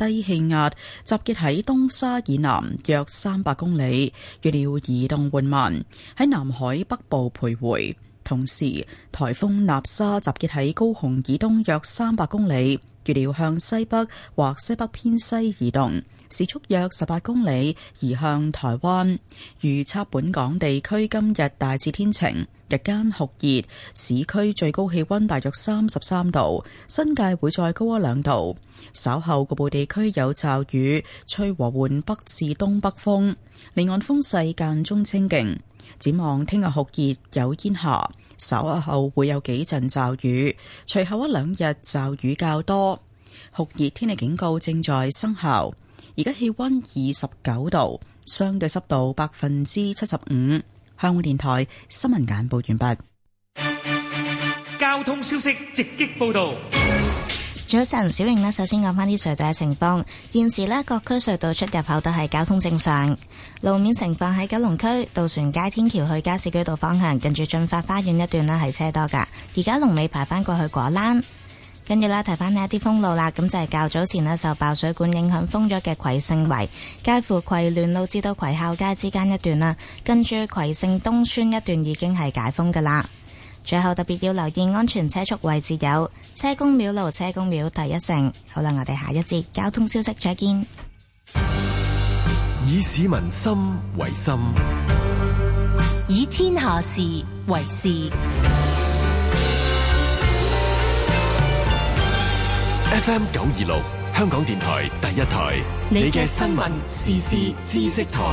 低氣壓集結喺東沙以南約300公里，預料移動緩慢，喺南海北部徘徊。同時，颱風納沙集結喺高雄以東約300公里，預料向西北或西北偏西移動，時速約18公里，移向台灣。預測本港地區今日大致天晴，日間酷熱，市區最高氣溫大約33度，新界會再高1-2度。稍後局部地區有驟雨，吹和緩北至東北風，離岸風勢間中清勁。展望聽日酷熱有煙霞，稍後會有幾陣驟雨，隨後1-2日驟雨較多。酷熱天氣警告正在生效。而家氣溫29度，相對濕度75%。香港電台新聞簡報完畢。 交通消息直擊報道。 早晨，小瑩呢，首先講返啲隧道嘅情況。現時呢，各區隧道出入口都係交通正常。路面情況喺九龍區渡船街天橋去加士居道方向，近住駿發花園一段呢係車多㗎。而家龍尾排返過去果欄。跟住啦，提翻呢一啲封路啦，咁就係較早前呢，受爆水管影響封咗嘅葵盛圍，介乎葵聯路至到葵孝街之間一段啦，跟住葵盛東村一段已經係解封㗎啦。最後特別要留意安全車速位置有車公廟路、車公廟第一城。好啦，我哋下一節交通消息再見。 以市民心為心， 以天下事為事。 FM 926香港電台第一台，你嘅新聞時事知識台。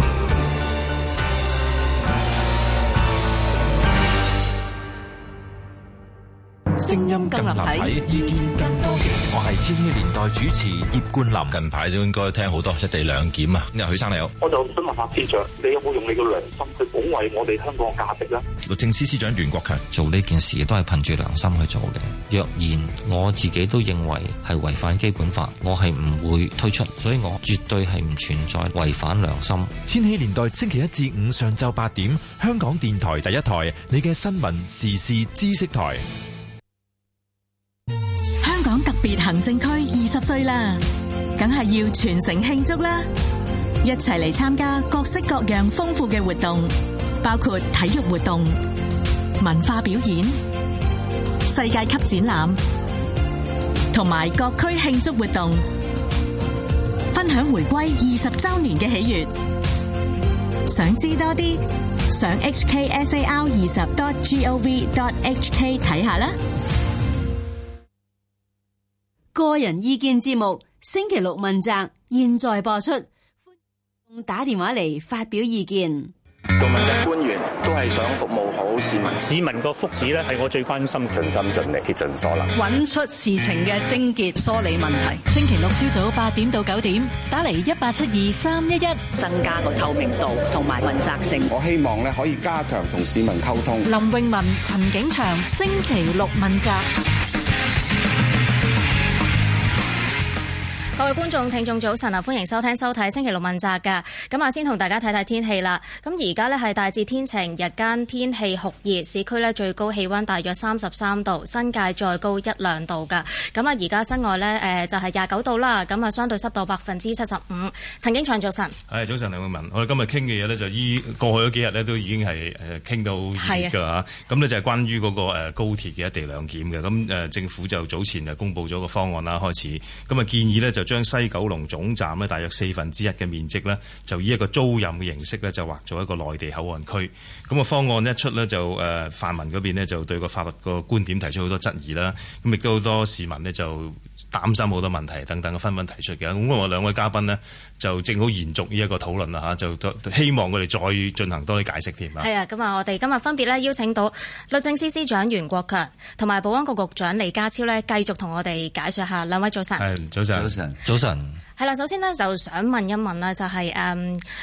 聲音更立體，意見更多元。 我係千禧年代主持葉冠霖。近排都應該聽好多一地兩檢啊。咁啊，許生你好， 我就想問下司長，你有冇用你嘅良心去保衛我哋香港嘅價值咧？ 律政司司長袁國強做呢件事都係憑住良心去做嘅。若然我自己都認為係違反基本法，我係唔會推出，所以我絕對係唔存在違反良心。 千禧年代星期一至五上晝8點，香港電台第一台，你嘅新聞時事知識台。 香港特別行政區20歲啦，梗係要全城慶祝啦！一齊嚟參加各式各樣豐富嘅活動，包括體育活動、文化表演、世界級展覽，同埋各區慶祝活動，分享回歸20週年嘅喜悅。想知多啲，上 hksar20.gov.hk 睇下啦。 個人意見節目星期六問責，現在播出，歡迎打電話嚟發表意見。 做問責官員都係想服務好市民， 市民個福祉咧係我最關心， 盡心盡力竭盡所能， 揾出事情嘅症結，梳理問題。 星期六朝早8點到9點，打嚟1872-311， 增加個透明度同埋問責性。 我希望咧可以加強同市民溝通。 林詠雯、陳景祥，星期六問責。 各位觀眾、聽眾早晨啊，歡迎收聽收睇星期六問責㗎。咁啊，先同大家睇睇天氣啦。咁而家呢係大致天晴，日間天氣酷熱，市區呢最高氣溫大約33度，新界再高1-2度㗎。咁啊，而家室外呢就係29度啦。咁啊，相對濕度75%。陳景祥早晨。 係早晨，林詠雯。我哋今日傾嘅嘢呢，就過去嗰幾日呢都已經係傾到熱㗎嚇。咁呢就係關於嗰個高鐵嘅一地兩檢嘅。咁政府就早前就公布咗個方案啦，開始咁啊建議呢就將西九龍總站呢大約1/4嘅面積呢，就以一個租賃嘅形式呢，就劃做一個內地口岸區。咁個方案一出呢，就泛民嗰邊呢，就對個法律個觀點提出好多質疑啦。咁亦都好多市民呢，就擔心好多問題等等嘅紛紛提出嘅。咁我兩位嘉賓呢，就正好延續呢一個討論啦嚇，就希望佢哋再進行多啲解釋添啊。 係啊，咁啊，我哋今日分別呢邀請到律政司司長袁國強同埋保安局局長李家超呢，繼續同我哋解説下。兩位早晨。 係早晨。 早晨。 係啦，首先呢，就想問一問啦，就係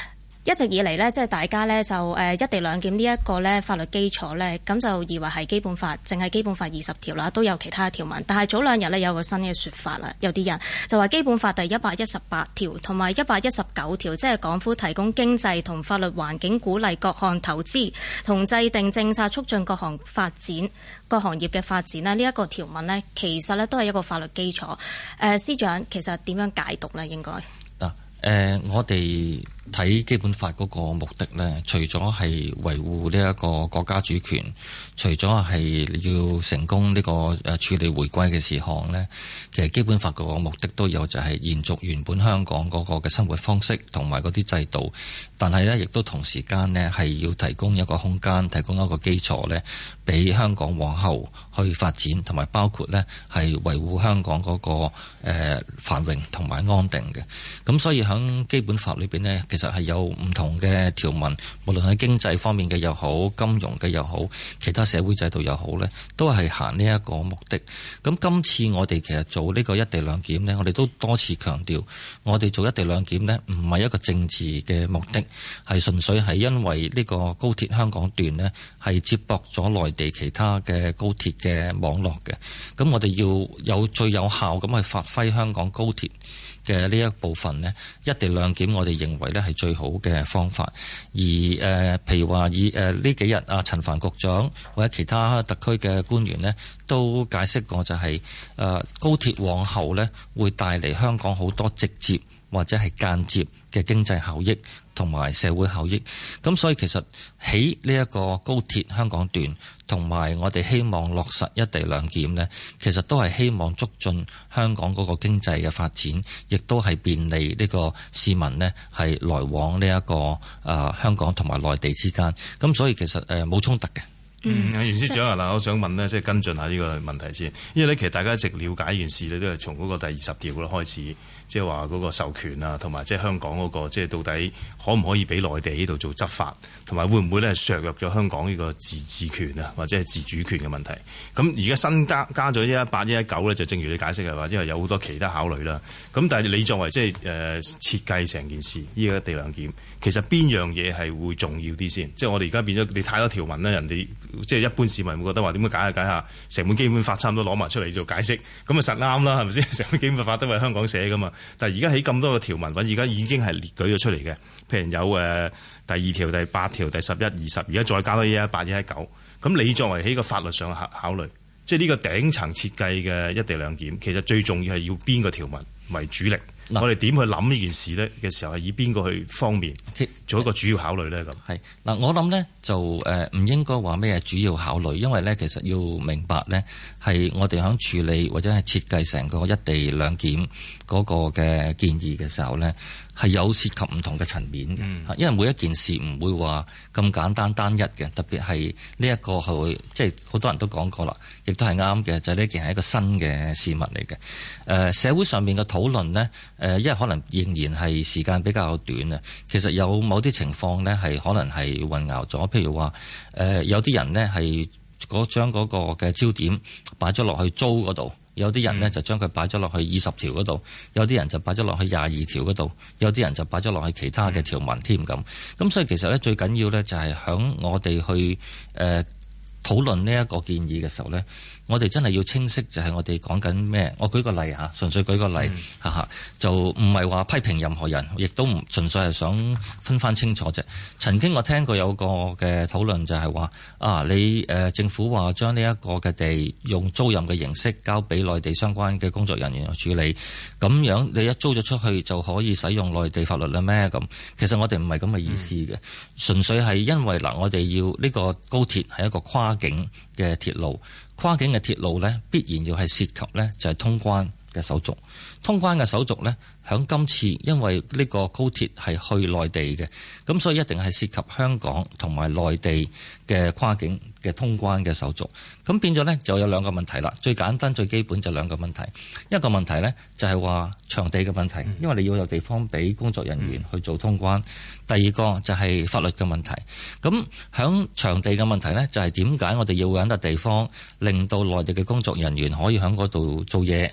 一直以嚟呢，即係大家呢，就一地兩檢呢一個呢法律基礎呢，咁就以為係基本法，淨係基本法20條啦，都有其他條文。但係早兩日呢，有個新嘅說法啦，有啲人就話基本法第118條同埋119條，即係港府提供經濟同法律環境，鼓勵各項投資同制定政策，促進各行業嘅發展呢，呢一個條文呢，其實呢都係一個法律基礎。司長其實點樣解讀呢？應該我哋睇基本法嗰個目的呢，除咗係維護呢一個國家主權，除咗係要成功呢個處理回歸嘅事項呢，其實基本法個目的都有，就係延續原本香港嗰個嘅生活方式同埋嗰啲制度，但係呢亦都同時間呢係要提供一個空間，提供一個基礎呢，俾香港往後去發展，同埋包括呢係維護香港嗰個繁榮同埋安定嘅。咁所以喺基本法裏邊呢，其實係有唔同嘅條文，無論喺經濟方面嘅又好，金融嘅又好，其他社會制度又好呢，都係行呢一個目的。咁今次我哋其實做呢個一地兩檢呢，我哋都多次強調，我哋做一地兩檢呢，唔係一個政治嘅目的，係純粹係因為呢個高鐵香港段呢，係接駁咗內地其他嘅高鐵嘅網絡嘅。咁我哋要有最有效咁去發揮香港高鐵嘅呢一部分呢，一地兩檢我哋認為呢係最好嘅方法。而譬如話以呢幾日陳帆局長或者其他特區嘅官員呢，都解釋過就係高鐵往後呢會帶嚟香港好多直接或者係間接嘅經濟效益同埋社會效益。咁所以其實喺呢一個高鐵香港段同埋我哋希望落實一地兩檢呢，其實都係希望促進香港嗰個經濟嘅發展，亦都係便利呢個市民呢係來往呢一個香港同埋內地之間。咁所以其實冇衝突嘅。 袁司長嗱，我想問呢，即係跟進下呢個問題先，因為咧其實大家一直了解呢件事咧，都係從嗰個第20條嗰度開始，即係話嗰個授權啊，同埋即係香港嗰個即係到底可唔可以俾內地呢度做執法，同埋會唔會咧削弱咗香港呢個自治權啊，或者係自主權嘅問題。咁而家新加咗118、119咧，就正如你解釋係話，因為有好多其他考慮啦。咁但係你作為即係設計成件事呢個一地兩檢，其實邊樣嘢係會重要啲先？即係我哋而家變咗你太多條文啦，人哋即係一般市民會覺得話點解解下成本基本法差唔多攞埋出嚟做解釋，咁啊實啱啦，係咪先？成本基本法都係香港寫噶嘛。但係而家喺咁多個條文，而家已經係列舉咗出嚟嘅，譬如有第2條、第8條、第11、20，而家再加多118、119。咁你作為喺個法律上考慮，即係呢個頂層設計嘅一地兩檢，其實最重要係要邊個條文為主力？我哋點去諗呢件事呢嘅時候，係以邊個去方面做一個主要考慮呢？咁係嗱，我諗呢就唔應該話咩主要考慮，因為呢其實要明白呢係我哋響處理或者係設計成個一地兩檢嗰個嘅建議嘅時候呢，係有涉及唔同嘅層面嘅。因為每一件事唔會話咁簡單單一嘅，特別係呢一個係即係好多人都講過啦，亦都係啱嘅，就係呢件係一個新嘅事物嚟嘅。社會上面嘅討論呢，因為可能仍然係時間比較短啊，其實有某啲情況呢係可能係混淆咗，譬如話有啲人呢係將嗰個嘅焦點擺咗落去租嗰度。有啲人呢就將佢擺咗落去20條嗰度，有啲人就擺咗落去22條嗰度，有啲人就擺咗落去其他嘅條文添咁。咁所以其實呢，最緊要呢就係響我哋去討論呢一個建議嘅時候呢，我哋真係要清晰，就係我哋講緊咩？我舉個例嚇，純粹舉個例嚇，就唔係話批評任何人，亦都唔純粹係想分翻清楚啫。曾經我聽過有個嘅討論就係話你政府話將呢一個嘅地用租賃嘅形式交俾內地相關嘅工作人員去處理，咁樣你一租咗出去就可以使用內地法律啦咩？咁其實我哋唔係咁嘅意思嘅，純粹係因為我哋要呢個高鐵係一個跨境嘅鐵路。跨境嘅鐵路呢，必然要係涉及呢，就係通關嘅手續。通關嘅手續呢，響今次因為呢個高鐵係去內地嘅，咁所以一定係涉及香港同埋內地嘅跨境嘅通關嘅手續。咁變咗呢，就有兩個問題啦。最簡單最基本就兩個問題。一個問題呢，就係話場地嘅問題，因為你要有地方俾工作人員去做通關。第二個就係法律嘅問題。咁響場地嘅問題呢，就係點解我哋要揾笪地方令到內地嘅工作人員可以喺嗰度做嘢，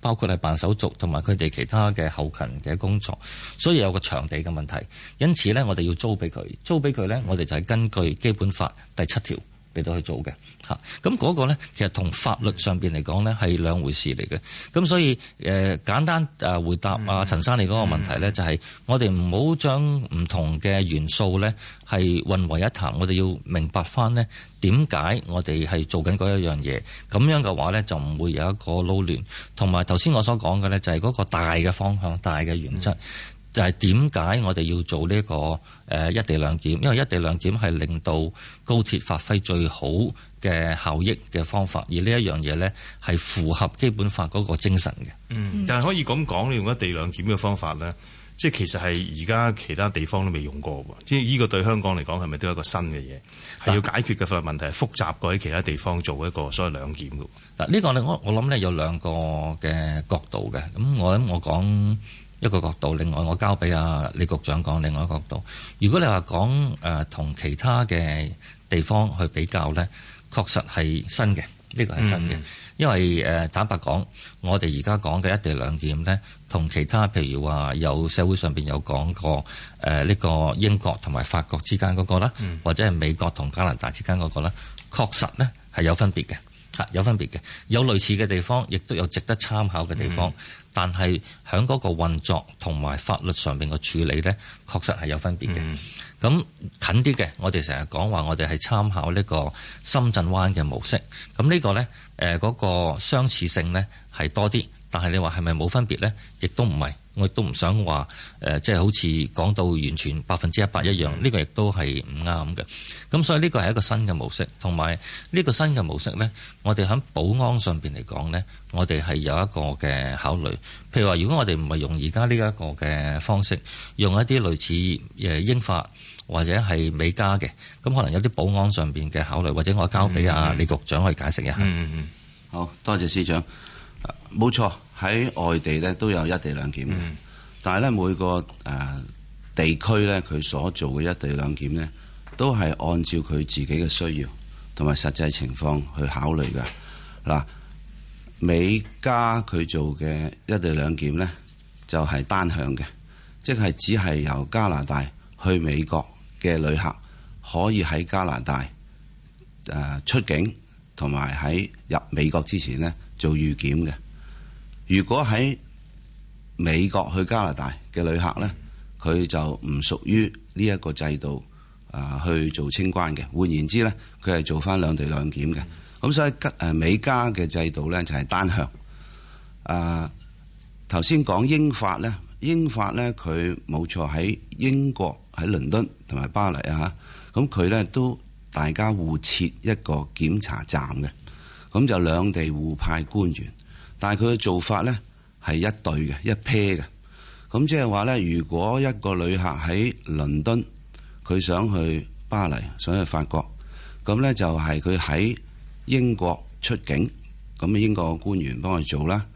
包括係辦手續同埋佢哋其他嘅後勤嘅工作，所以有個場地嘅問題。因此呢，我哋要租俾佢呢，我哋就係根據基本法第7條嚟到去做嘅嚇。咁嗰個呢，其實同法律上邊嚟講呢係兩回事嚟嘅。咁所以簡單回答陳生你嗰個問題呢，就係我哋唔好將唔同嘅元素呢係混為一談。我哋要明白翻呢點解我哋係做緊嗰一樣嘢，咁樣嘅話呢，就唔會有一個撈亂。同埋頭先我所講嘅呢，就係嗰個大嘅方向、大嘅原則。就係點解我哋要做呢個一地兩檢？因為一地兩檢係令到高鐵發揮最好嘅效益嘅方法，而呢一樣嘢呢係符合基本法嗰個精神嘅。 但係可以咁講，你用一地兩檢嘅方法呢，即係其實係而家其他地方都未用過喎。即係呢個對香港嚟講係咪都係一個新嘅嘢？係要解決嘅法律問題係複雜過喺其他地方做一個所謂兩檢嘅。 嗱，呢個呢我諗呢有兩個嘅角度嘅。咁我講一個角度，另外我交俾李局長講另外一個角度。如果你話講同其他嘅地方去比較呢，確實係新嘅，呢個係新嘅。因為坦白講，我哋而家講嘅一地兩檢呢，同其他譬如話有社會上邊有講過呢個英國同埋法國之間嗰個啦，或者係美國同加拿大之間嗰個啦，確實呢係有分別嘅。有分別嘅，有類似嘅地方，亦都有值得參考嘅地方。但係喺嗰個運作同埋法律上面嘅處理呢，確實係有分別嘅。咁近啲嘅，我哋成日講話，我哋係參考呢個深圳灣嘅模式。咁呢個呢，嗰個相似性呢係多啲，但係你話係咪冇分別呢？亦都唔係。我亦都唔想話即係好似講到完全100%一樣，呢個亦都係唔啱嘅。咁所以呢個係一個新嘅模式，同埋呢個新嘅模式呢，我哋喺保安上邊嚟講呢，我哋係有一個嘅考慮。譬如話，如果我哋唔係用而家呢一個嘅方式，用一啲類似英法或者係美加嘅，咁可能有啲保安上邊嘅考慮，或者我交俾李局長去解釋一下。 好多謝司長。冇錯，喺外地咧都有一地兩檢嘅，但係咧每個地區咧佢所做嘅一地兩檢咧，都係按照佢自己嘅需要同埋實際情況去考慮嘅。嗱，美加佢做嘅一地兩檢咧，就係單向嘅，即係只係由加拿大去美國嘅旅客可以喺加拿大出境，同埋喺入美國之前咧做預檢嘅。如果喺美國去加拿大嘅旅客呢，佢就唔屬於呢一個制度去做清關嘅。換言之呢，佢係做翻兩地兩檢嘅。咁所以美加嘅制度呢，就係單向。頭先講英法呢，英法呢，佢冇錯喺英國喺倫敦同埋巴黎啊，咁佢呢都大家互設一個檢查站嘅，咁就兩地互派官員。但係佢嘅做法呢係一對嘅，一 pair 嘅。咁即係話呢，如果一個旅客喺倫敦，佢想去巴黎，想去法國，咁呢就係佢喺英國出境，咁英國嘅官員幫佢做啦。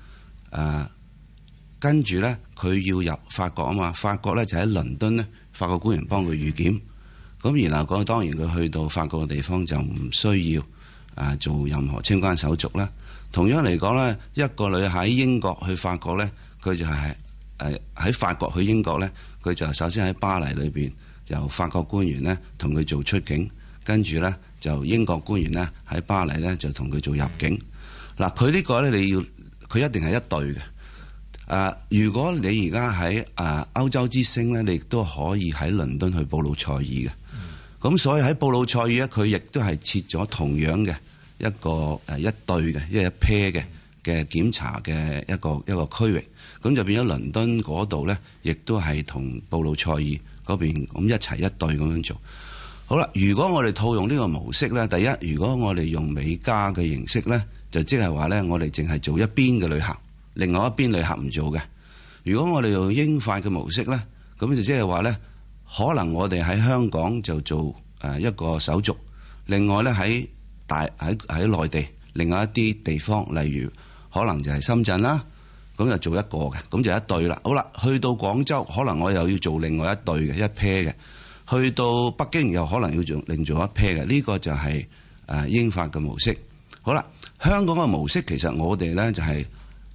跟住呢，佢要入法國啊嘛，法國呢就喺倫敦呢，法國官員幫佢預檢。咁然後當然佢去到法國嘅地方就唔需要做任何清關手續啦。同樣嚟講呢，一個旅客喺英國去法國呢，佢就係喺法國去英國呢，佢就首先喺巴黎裏邊由法國官員呢同佢做出境，跟住呢就英國官員呢喺巴黎呢就同佢做入境。嗱，佢呢個呢，佢一定係一對嘅。如果你而家喺歐洲之星呢，你亦都可以喺倫敦去布魯塞爾嘅。咁所以喺布魯塞爾呢，佢亦都係設咗同樣嘅一個一對嘅，一 pair 嘅檢查嘅一個區域，咁就變咗倫敦嗰度呢，亦都係同布魯塞爾嗰邊咁一齊一對咁樣做。好啦，如果我哋套用呢個模式呢，第一，如果我哋用美加嘅形式呢，就即係話呢，我哋淨係做一邊嘅旅客，另外一邊旅客唔做嘅。如果我哋用英法嘅模式呢，咁就即係話呢，可能我哋喺香港就做一個手續，另外呢喺內地另外一啲地方，例如可能就係深圳啦，咁就做一個嘅，咁就一對啦。好啦，去到廣州可能我又要做另外一對嘅，一 pair 嘅。去到北京又可能要另做一 pair 嘅。呢個就係英法嘅模式。好啦，香港嘅模式其實我哋呢就係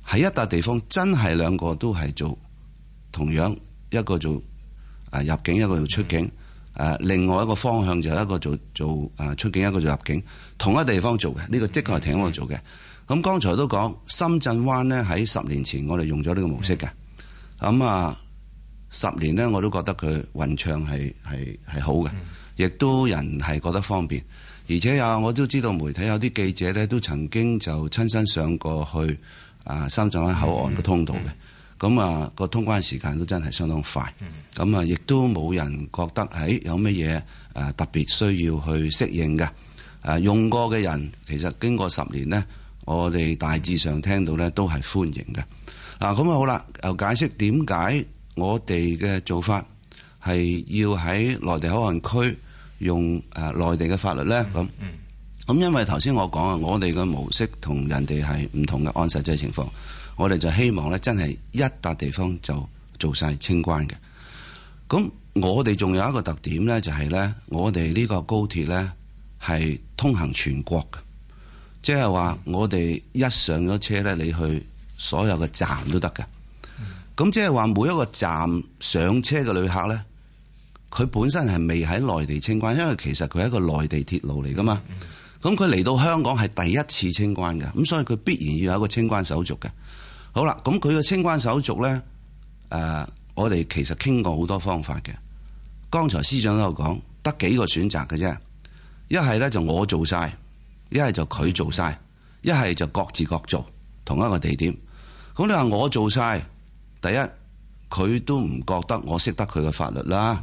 喺一笪地方真係兩個都係做同樣，一個做入境，一個做出境。另外一個方向就係一個做出境，一個做入境，同一地方做嘅，呢個的確係挺好做嘅。咁剛才都講深圳灣呢，喺10年前我哋用咗呢個模式嘅，咁10年呢，我都覺得佢運暢係好嘅，亦都人係覺得方便，而且我都知道媒體有啲記者呢，都曾經就親身上過去深圳灣口岸嘅通道嘅，咁個通關時間都真係相當快，咁亦都冇人覺得有乜嘢特別需要去適應嘅，用過嘅人其實經過10年呢，我哋大致上聽到呢都係歡迎嘅。咁好啦，又解釋點解我哋嘅做法係要喺內地口岸區用內地嘅法律呢？咁因為頭先我講我哋嘅模式同人哋係唔同嘅，按實際情況，我哋就希望呢真係一笪地方就做晒清關嘅。咁我哋仲有一個特點呢，就係呢，我哋呢個高鐵呢係通行全國嘅，即係話我哋一上咗車呢，你去所有嘅站都得嘅。咁即係話每一個站上車嘅旅客呢，佢本身係未喺內地清關，因為其實佢係一個內地鐵路嚟噶嘛。咁佢嚟到香港係第一次清關嘅，咁所以佢必然要有一個清關手續嘅。好啦，咁佢嘅清關手續呢，我哋其實傾過好多方法嘅。剛才司長都有講，得幾個選擇嘅啫。一係呢就我做晒，一係就佢做晒，一係就各自各做同一個地點。咁你話我做晒，第一佢都唔覺得我識得佢嘅法律啦。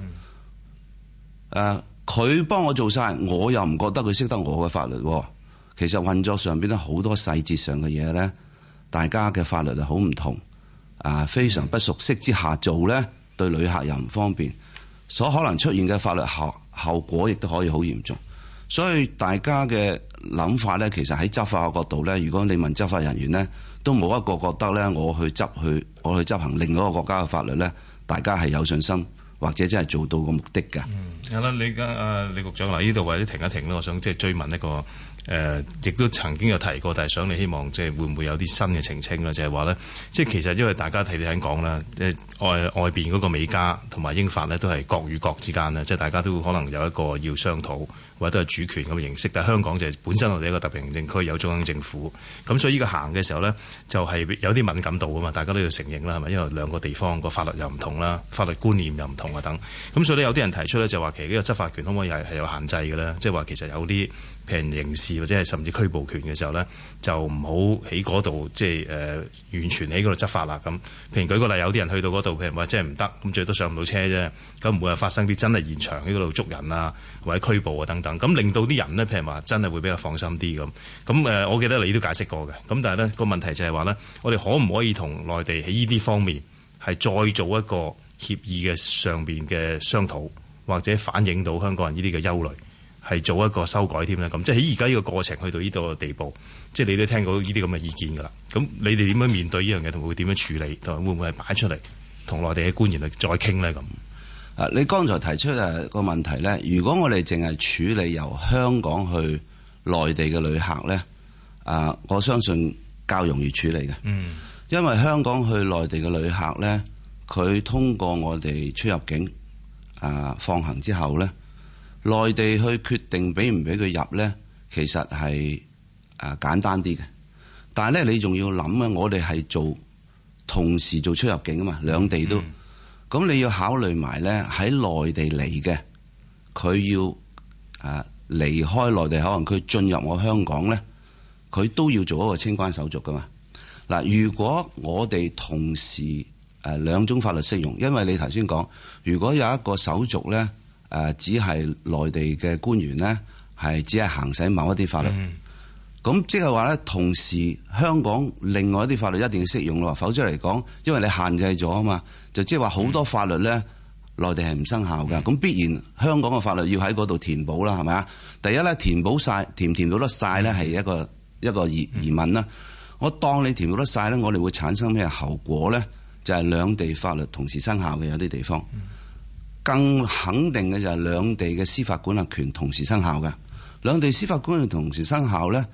佢幫我做晒，我又唔覺得佢識得我嘅法律。其實運作上邊咧好多細節上嘅嘢呢，大家嘅法律係好唔同，非常不熟悉之下做呢，對旅客又唔方便，所可能出現嘅法律後果亦都可以好嚴重。所以大家嘅諗法呢，其實喺執法嘅角度呢，如果你問執法人員呢，都冇一個覺得呢，我去執行另一個國家嘅法律呢，大家係有信心或者真係做到個目的㗎。 係啦，你而家李局長嗱，呢度或者停一停啦，我想即係追問一個亦都曾經有提過，但係想你希望即係會唔會有啲新嘅澄清啦？就係話咧，即係其實因為大家睇你喺講啦，外邊嗰個美加同埋英法呢，都係國與國之間咧，即係大家都可能有一個要商討或者都係主權咁嘅形式。但係香港就係本身我哋一個特別行政區，有中央政府，咁所以呢個行嘅時候呢，就係有啲敏感度啊嘛，大家都要承認啦，係咪？因為兩個地方個法律又唔同啦，法律觀念又唔同啊等，咁所以呢，有啲人提出呢，就話其實呢個執法權可唔可以係有限制嘅咧？即係話其實有啲譬如刑事或者係甚至拘捕權嘅時候呢，就唔好喺嗰度即係完全喺嗰度執法啦。咁譬如舉個例，有啲人去到嗰度，譬如話即係唔得，咁最多上唔到車啫，咁唔會話發生啲真係現場喺嗰度捉人啊或者拘捕啊等等，咁令到啲人呢，譬如話真係會比較放心啲咁。咁我記得你都解釋過嘅，咁但係呢個問題就係話呢，我哋可唔可以同內地喺呢啲方面係再做一個協議嘅上邊嘅商討，或者反映到香港人呢啲嘅憂慮？係做一個修改添啦，咁即係喺而家呢個過程去到呢度嘅地步，即係你都聽到呢啲咁嘅意見㗎啦。咁你哋點樣面對呢樣嘢，同會點樣處理，同埋會唔會係擺出嚟同內地嘅官員去再傾呢？咁你剛才提出個問題呢，如果我哋淨係處理由香港去內地嘅旅客呢，我相信較容易處理嘅。因為香港去內地嘅旅客呢，佢通過我哋出入境放行之後呢，內地去決定俾唔俾佢入呢，其實係簡單啲嘅。但係呢，你仲要諗啊，我哋係同時做出入境啊嘛，兩地都。咁你要考慮埋呢，喺內地嚟嘅，佢要離開內地口岸區進入我香港呢，佢都要做一個清關手續噶嘛。嗱，如果我哋同時兩種法律適用，因為你頭先講，如果有一個手續呢，只係內地嘅官員呢，係只係行使某一啲法律，咁即係話呢，同時香港另外一啲法律一定要適用咯，否則嚟講，因為你限制咗啊嘛，就即係話好多法律呢，內地係唔生效㗎，咁必然香港嘅法律要喺嗰度填補啦，係咪啊？第一呢，填補晒，填唔填到得晒呢，係一個疑問啦。我當你填到得晒呢，我哋會產生咩後果呢？就係兩地法律同時生效嘅有啲地方，更肯定嘅就係兩地嘅司法管轄權同時生效嘅。兩地司法管轄權同時生效呢，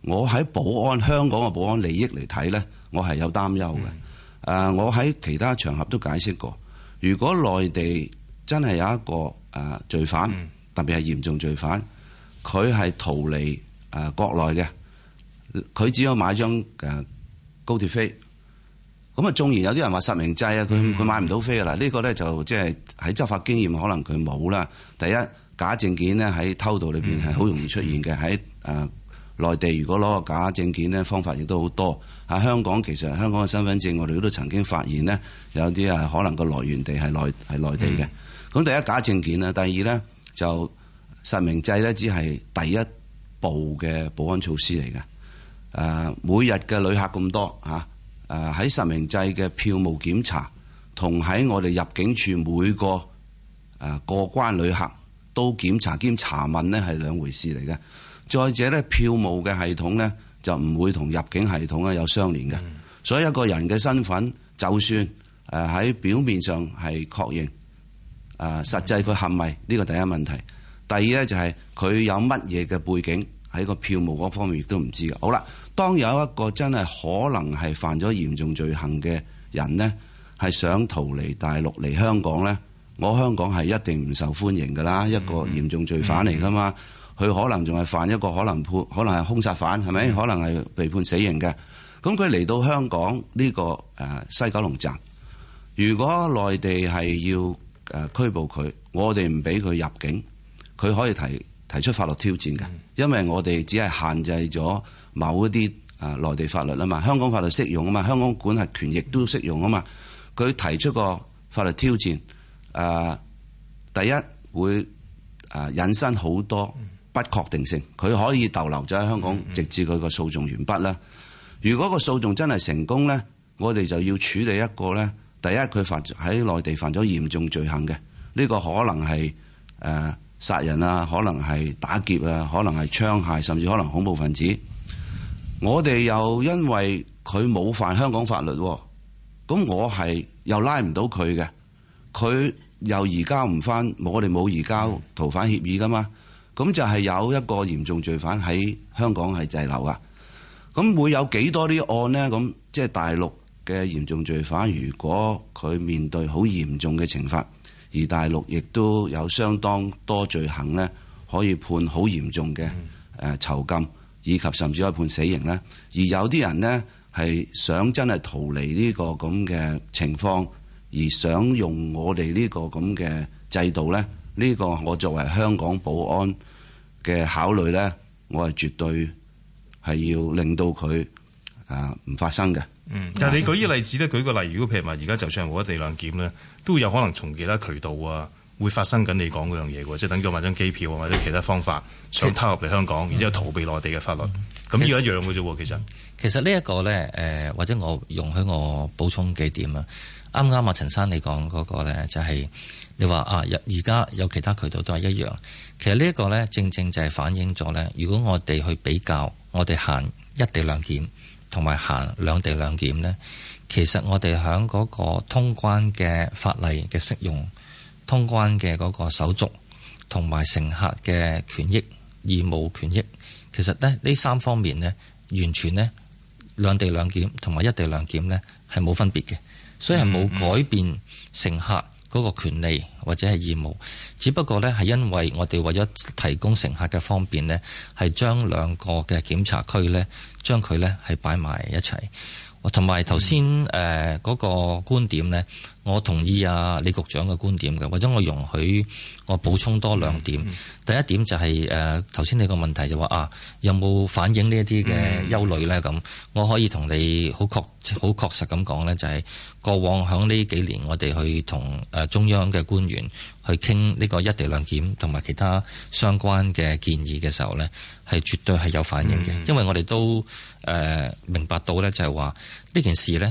我喺香港嘅保安利益嚟睇呢，我係有擔憂嘅。我喺其他場合都解釋過，如果內地真係有一個罪犯，特別係嚴重罪犯，佢係逃離國內嘅，佢只有買張高鐵飛。咁啊，縱然有啲人話實名制啊，佢買唔到飛啊。嗱，呢個咧就即係喺執法經驗可能佢冇啦。第一，假證件咧喺偷渡裏邊係好容易出現嘅。喺內地如果攞個假證件咧，方法亦都好多。喺香港其實香港嘅身份證，我哋都曾經發現呢，有啲可能個來源地係內地嘅。咁第一，假證件啦，第二咧就實名制咧，只係第一步嘅保安措施嚟嘅。每日嘅旅客咁多嚇。喺實名制嘅票務檢查，同喺我哋入境處每個過關旅客都檢查兼查問呢係兩回事嚟嘅。再者呢，票務嘅系統呢就唔會同入境系統呢有相連嘅。所以一個人嘅身份，就算喺表面上係確認，實際佢係咪呢個第一問題。第二呢，就係佢有乜嘢嘅背景，喺個票務嗰方面亦都唔知嘅。好啦。當有一個真係可能係犯咗嚴重罪行嘅人呢，係想逃離大陸嚟香港呢，我香港係一定唔受歡迎㗎啦。一個嚴重罪犯嚟㗎嘛，佢可能仲係犯一個可能係兇殺犯，係咪？可能係被判死刑嘅。咁佢嚟到香港呢個西九龍站，如果內地係要拘捕佢，我哋唔俾佢入境，佢可以提出法律挑戰嘅，因為我哋只係限制咗某一啲內地法律啊嘛，香港法律適用啊嘛，香港管轄權亦都適用啊嘛。佢提出個法律挑戰，第一會引申好多不確定性，佢可以逗留咗喺香港，直至佢個訴訟完畢啦。如果個訴訟真係成功呢，我哋就要處理一個呢，第一佢喺內地犯咗嚴重罪行嘅，呢個可能係殺人啊，可能係打劫啊，可能係槍械，甚至可能恐怖分子。我哋又因為佢冇犯香港法律，咁我係又拉唔到佢嘅，佢又移交唔翻，我哋冇移交逃犯協議噶嘛，咁就係有一個嚴重罪犯喺香港係滯留噶。咁會有幾多啲案呢？咁即係大陸嘅嚴重罪犯，如果佢面對好嚴重嘅懲罰，而大陸亦都有相當多罪行呢，可以判好嚴重嘅囚禁，以及甚至可以判死刑呢。而有啲人呢，係想真係逃離呢個咁嘅情況，而想用我哋呢個咁嘅制度呢，呢個我作為香港保安嘅考慮呢，我係絕對係要令到佢唔發生嘅。 但係你舉啲例子咧，舉個例，如果譬如話而家就算係冇一地兩檢咧，都有可能從其他渠道啊，會發生緊你講嗰樣嘢喎，即係等於買張機票啊，或者其他方法想偷入嚟香港，然之後逃避內地嘅法律，咁呢個一樣嘅啫喎。其實呢一個咧，或者我容許我補充幾點啊。啱啱啊，陳生你講嗰個咧，就係你話啊，而家有其他渠道都係一樣。其實呢一個咧，正正就係反映咗咧，如果我哋去比較，我哋行一地兩檢同埋行兩地兩檢呢，其實我哋喺嗰個通關嘅法例嘅適用、通關嘅嗰個手續同埋乘客嘅權益、義務權益，其實呢三方面呢，完全呢兩地兩檢同埋一地兩檢呢係冇分別嘅，所以係冇改變乘客嗰個權利或者係義務，只不過呢係因為我哋為咗提供乘客嘅方便呢，係將兩個嘅檢查區呢，將佢呢係擺埋一齊。同埋頭先嗰個觀點呢，我同意啊李局長嘅觀點嘅，或者我容許我補充多兩點。第一點就係頭先你個問題就話有冇反映呢一啲嘅憂慮呢？咁我可以同你好確實咁講呢，就係過往響呢幾年我哋去同中央嘅官員去傾呢個一地兩檢同埋其他相關嘅建議嘅時候呢，係絕對係有反應嘅，因為我哋都明白到呢，就係話呢件事呢，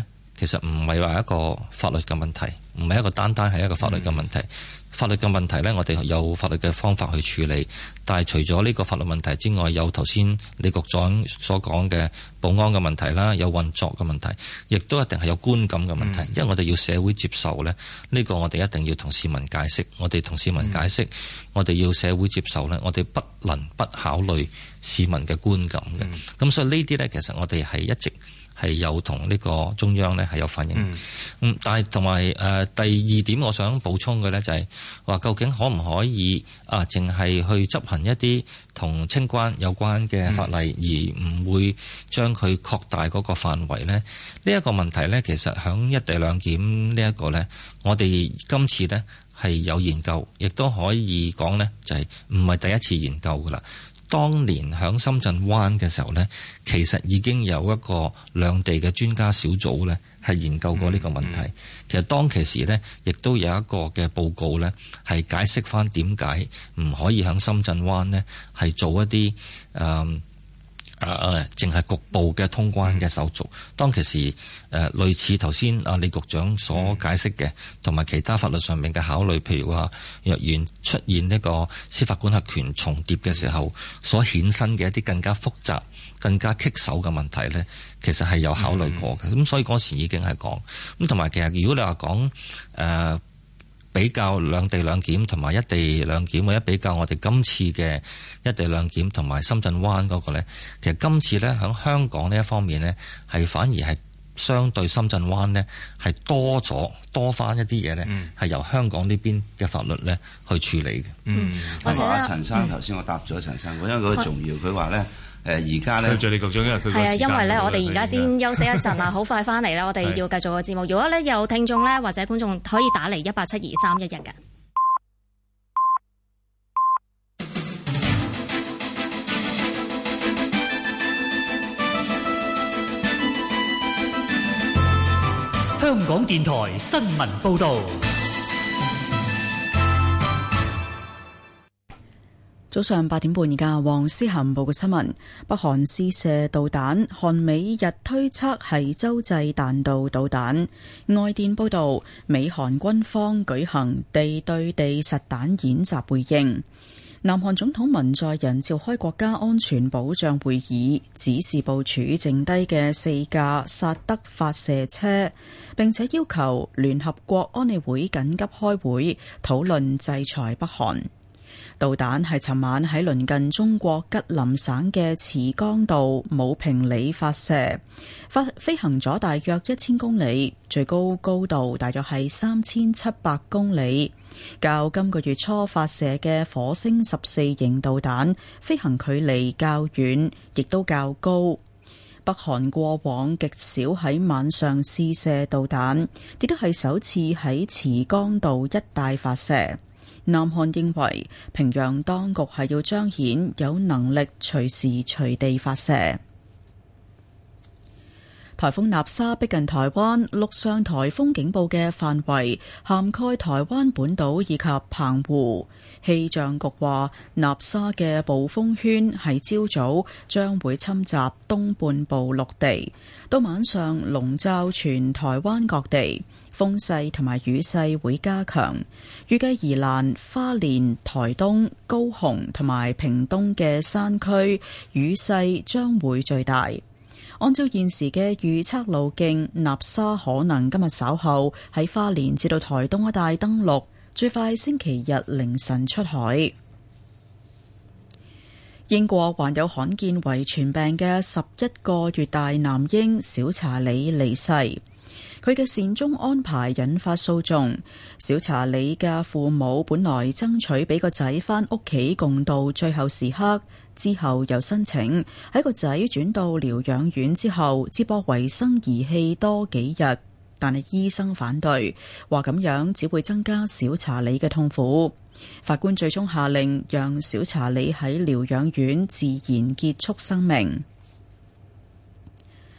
其實唔係話一個法律嘅問題，唔係一個單係一個法律嘅問題。法律嘅問題呢，我哋有法律嘅方法去處理，但係除咗呢個法律問題之外，有頭先李局長所講嘅保安嘅問題啦，有運作嘅問題，亦都一定係有觀感嘅問題。因為我哋要社會接受呢，呢個我哋一定要同市民解釋。我哋同市民解釋，我哋要社會接受呢，我哋不能不考慮市民嘅觀感嘅。咁所以呢啲呢，其實我哋係一直係有同呢個中央呢係有反映。但係同埋第二點，我想補充嘅呢就係話，究竟可唔可以淨係去執行一啲同清關有關嘅法例，而唔會將佢擴大嗰個範圍呢？呢一個問題呢，其實響一地兩檢呢一個呢，我哋今次呢係有研究，亦都可以講呢，就係唔係第一次研究噶啦。當年喺深圳灣嘅時候呢，其實已經有一個兩地嘅專家小組呢係研究過呢個問題。其實當其時呢，亦都有一個嘅報告呢係解釋翻點解唔可以喺深圳灣呢係做一啲淨係局部嘅通關嘅手續。當其時類似頭先李局長所解釋嘅，同埋其他法律上面嘅考慮，譬如話若然出現呢個司法管轄權重疊嘅時候，所衍生嘅一啲更加複雜、更加棘手嘅問題呢，其實係有考慮過嘅。咁所以嗰時已經係講咁，同埋其實如果你話講比較兩地兩檢同埋一地兩檢，或者比較我哋今次嘅一地兩檢同埋深圳灣嗰個呢，其實今次呢，喺香港呢一方面呢，係反而係相對深圳灣呢，係多翻一啲嘢呢，係由香港呢邊嘅法律呢去處理嘅。 或者阿陳生頭先我答咗陳生，因為嗰個重要，佢話呢。而家咧， 謝李局長，因為佢係啊，因為咧，我哋而家先休息一陣啊，好快翻嚟咧，我哋要繼續個節目。如果咧有聽眾咧或者觀眾可以打嚟1872311嘅。 香港電台新聞報導。 早上8點半，而家黃思涵報嘅新聞：北韓試射導彈，韓美日推測係洲際彈道導彈。外電報道，美韓軍方舉行地對地實彈演習回應。南韓總統文在寅召開國家安全保障會議，指示部署剩低嘅4架薩德發射車，並且要求聯合國安理會緊急開會討論制裁北韓。導彈係尋晚喺鄰近中國吉林省嘅慈江道武平里發射，飛行咗大約1000公里，最高高度大約係3700公里，較今個月初發射嘅火星14型導彈飛行距離較遠，亦都較高。北韓過往極少喺晚上試射導彈，亦都係首次喺慈江道一帶發射。南韓認為平壤當局係要彰顯有能力隨時隨地發射。颱風納沙逼近台灣，陸上颱風警報嘅範圍涵蓋台灣本島以及澎湖。氣象局話，納沙嘅暴風圈喺朝早將會侵襲東半部陸地，到晚上籠罩全台灣各地，風勢同埋雨勢會加強。預計宜蘭、花蓮、台東、高雄同埋屏東嘅山區雨勢將會最大。按照現時嘅預測路徑，納沙可能今日稍後喺花蓮至到台東一帶登陸，最快星期日凌晨出海。英國患有罕見遺傳病嘅11個月大男嬰小查理離世，佢嘅善終安排引發訴訟。小查理嘅父母本來爭取俾個仔返屋企共度最後時刻，之後又申請喺個仔轉到療養院之後接駁維生儀器多幾日，但係醫生反對，話咁樣只會增加小查理嘅痛苦。法官最終下令讓小查理喺療養院自然結束生命。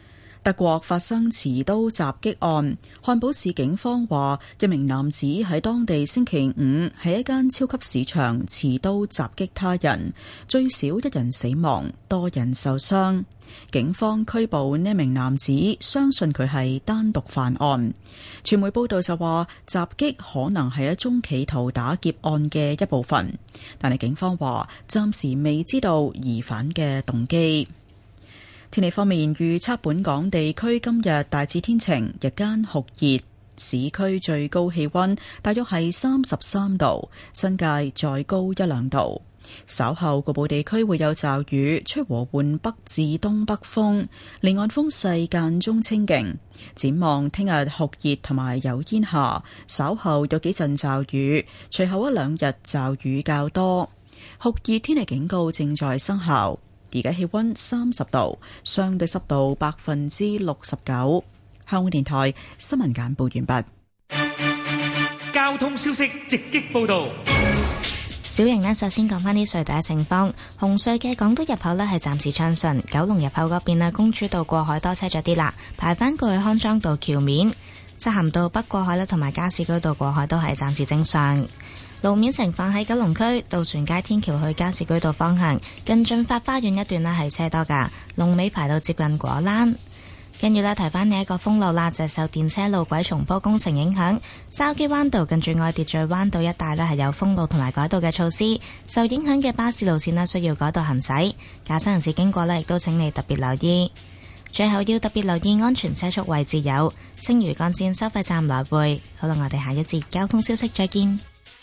德國發生持刀襲擊案，漢堡市警方話，一名男子喺當地星期五喺一間超級市場持刀襲擊他人，最少一人死亡，多人受傷。警方拘捕呢名男子，相信佢係單獨犯案。傳媒報道就話，襲擊可能係一宗企圖打劫案嘅一部分，但係警方話暫時未知道疑犯嘅動機。天氣方面，預測本港地區今日大致天晴，日間酷熱，市區最高氣溫大約係33度，新界再高1、2度。稍後局部地區會有驟雨，吹和緩北至東北風，離岸風勢間中清勁。展望聽日酷熱同埋有煙霞，稍後有幾陣驟雨，隨後1、2日驟雨較多。酷熱天氣警告正在生效。而家氣溫30度，相對濕度69%。香港電台新聞簡報完畢。交通消息直擊報道。 小瑩呢，首先講返啲隧道嘅情況。紅隧嘅港島入口呢係暫時暢順，九龍入口嗰邊啊，公主道過海多車咗啲啦，排返過去康莊道橋面，漆咸道北過海啦，同埋加士居道過海都係暫時正常。路面情況喺九龍區渡船街天橋去加士居道方向，近駿發花園一段呢係車多噶，龍尾排到接近果欄。跟住呢，提翻你一個封路啦，就受電車路軌重鋪工程影響，筲箕灣道近住愛秩序灣道一帶呢係有封路同埋改道嘅措施，受影響嘅巴士路線呢需要改道行駛，駕駛人士經過呢亦都請你特別留意。最後要特別留意安全車速位置有青嶼幹線收費站來回。好啦，我哋下一節交通消息再見。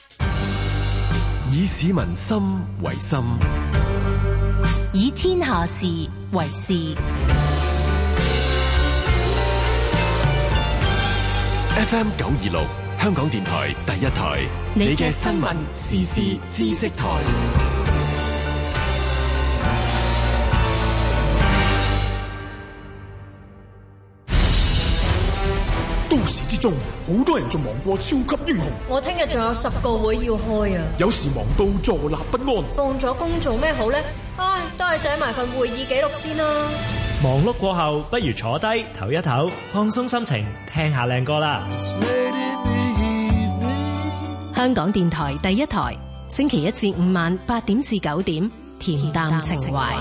以市民心為心， 以天下事為事。 FM 926，香港電台第一台，你嘅新聞時事知識台。 都市之中，好多人仲忙過超級英雄。 我聽日仲有10個會要開啊！ 有時忙到坐立不安。 放咗工做咩好呢？唉，都係寫埋份會議記錄先啦。 忙碌過後，不如坐低唞一唞，放鬆心情，聽下靚歌啦。 香港電台第一台，星期1至5晚8點至9點，恬淡情懷。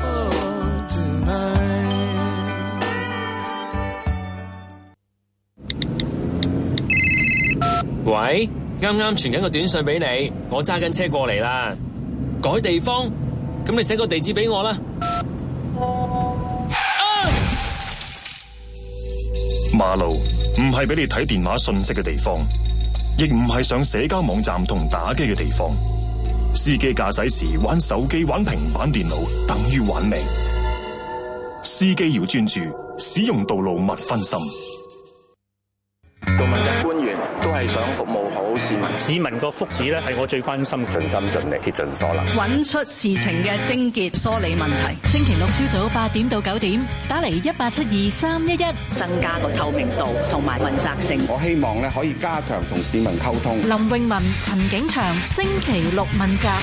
喂，啱啱傳緊個短信俾你，我揸緊車過嚟啦。改地方，咁你寫個地址俾我啦。 馬路唔係俾你睇電話信息嘅地方，亦唔係上社交網站同打機嘅地方。司機駕駛時玩手機、玩平板電腦，等於玩命。司機要專注，使用道路勿分心。 做問責官員都係想服務好市民， 市民個福祉咧係我最關心， 盡心盡力，竭盡所能， 揾出事情嘅症結，梳理問題。 星期六朝早8點到9點，打嚟1872-311， 增加個透明度同埋問責性。 我希望咧可以加強同市民溝通。 林詠雯、陳景祥，星期六問責。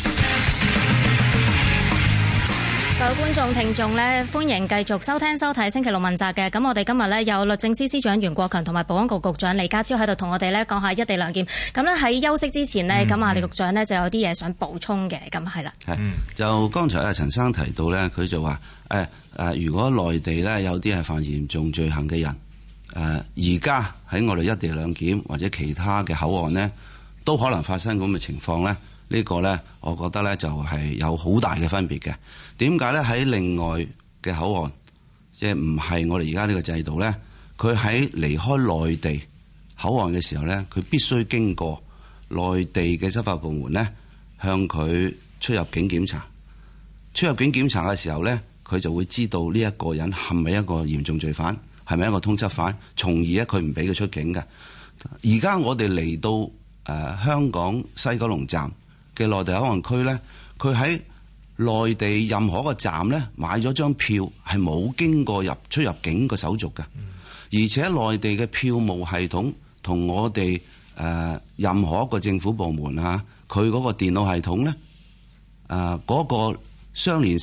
各位觀眾聽眾咧，歡迎繼續收聽收睇星期六問責嘅。咁我哋今日咧有律政司司長袁國強同埋保安局局長李家超喺度同我哋咧講下一地兩檢。咁咧喺休息之前呢，咁啊李局長呢就有啲嘢想補充嘅。咁係啦， 就剛才陳生提到咧，佢就話如果內地咧有啲係犯嚴重罪行嘅人，而家喺我哋一地兩檢或者其他嘅口岸呢，都可能發生咁嘅情況咧。呢個呢，我覺得呢就係有好大嘅分別嘅。點解呢？喺另外嘅口岸，即係唔係我哋而家呢個制度呢，佢喺離開內地口岸嘅時候呢，佢必須經過內地嘅執法部門呢，向佢出入境檢查。出入境檢查嘅時候呢，佢就會知道呢一個人係咪一個嚴重罪犯，係咪一個通緝犯，從而呢佢唔俾佢出境嘅。而家我哋嚟到香港西九龍站嘅內地口岸區呢，佢喺內地任何一個站呢買咗張票，係冇經過出入境個手續嘅，而且內地嘅票務系統同我哋任何一個政府部門佢嗰個電腦系統呢，嗰個相連性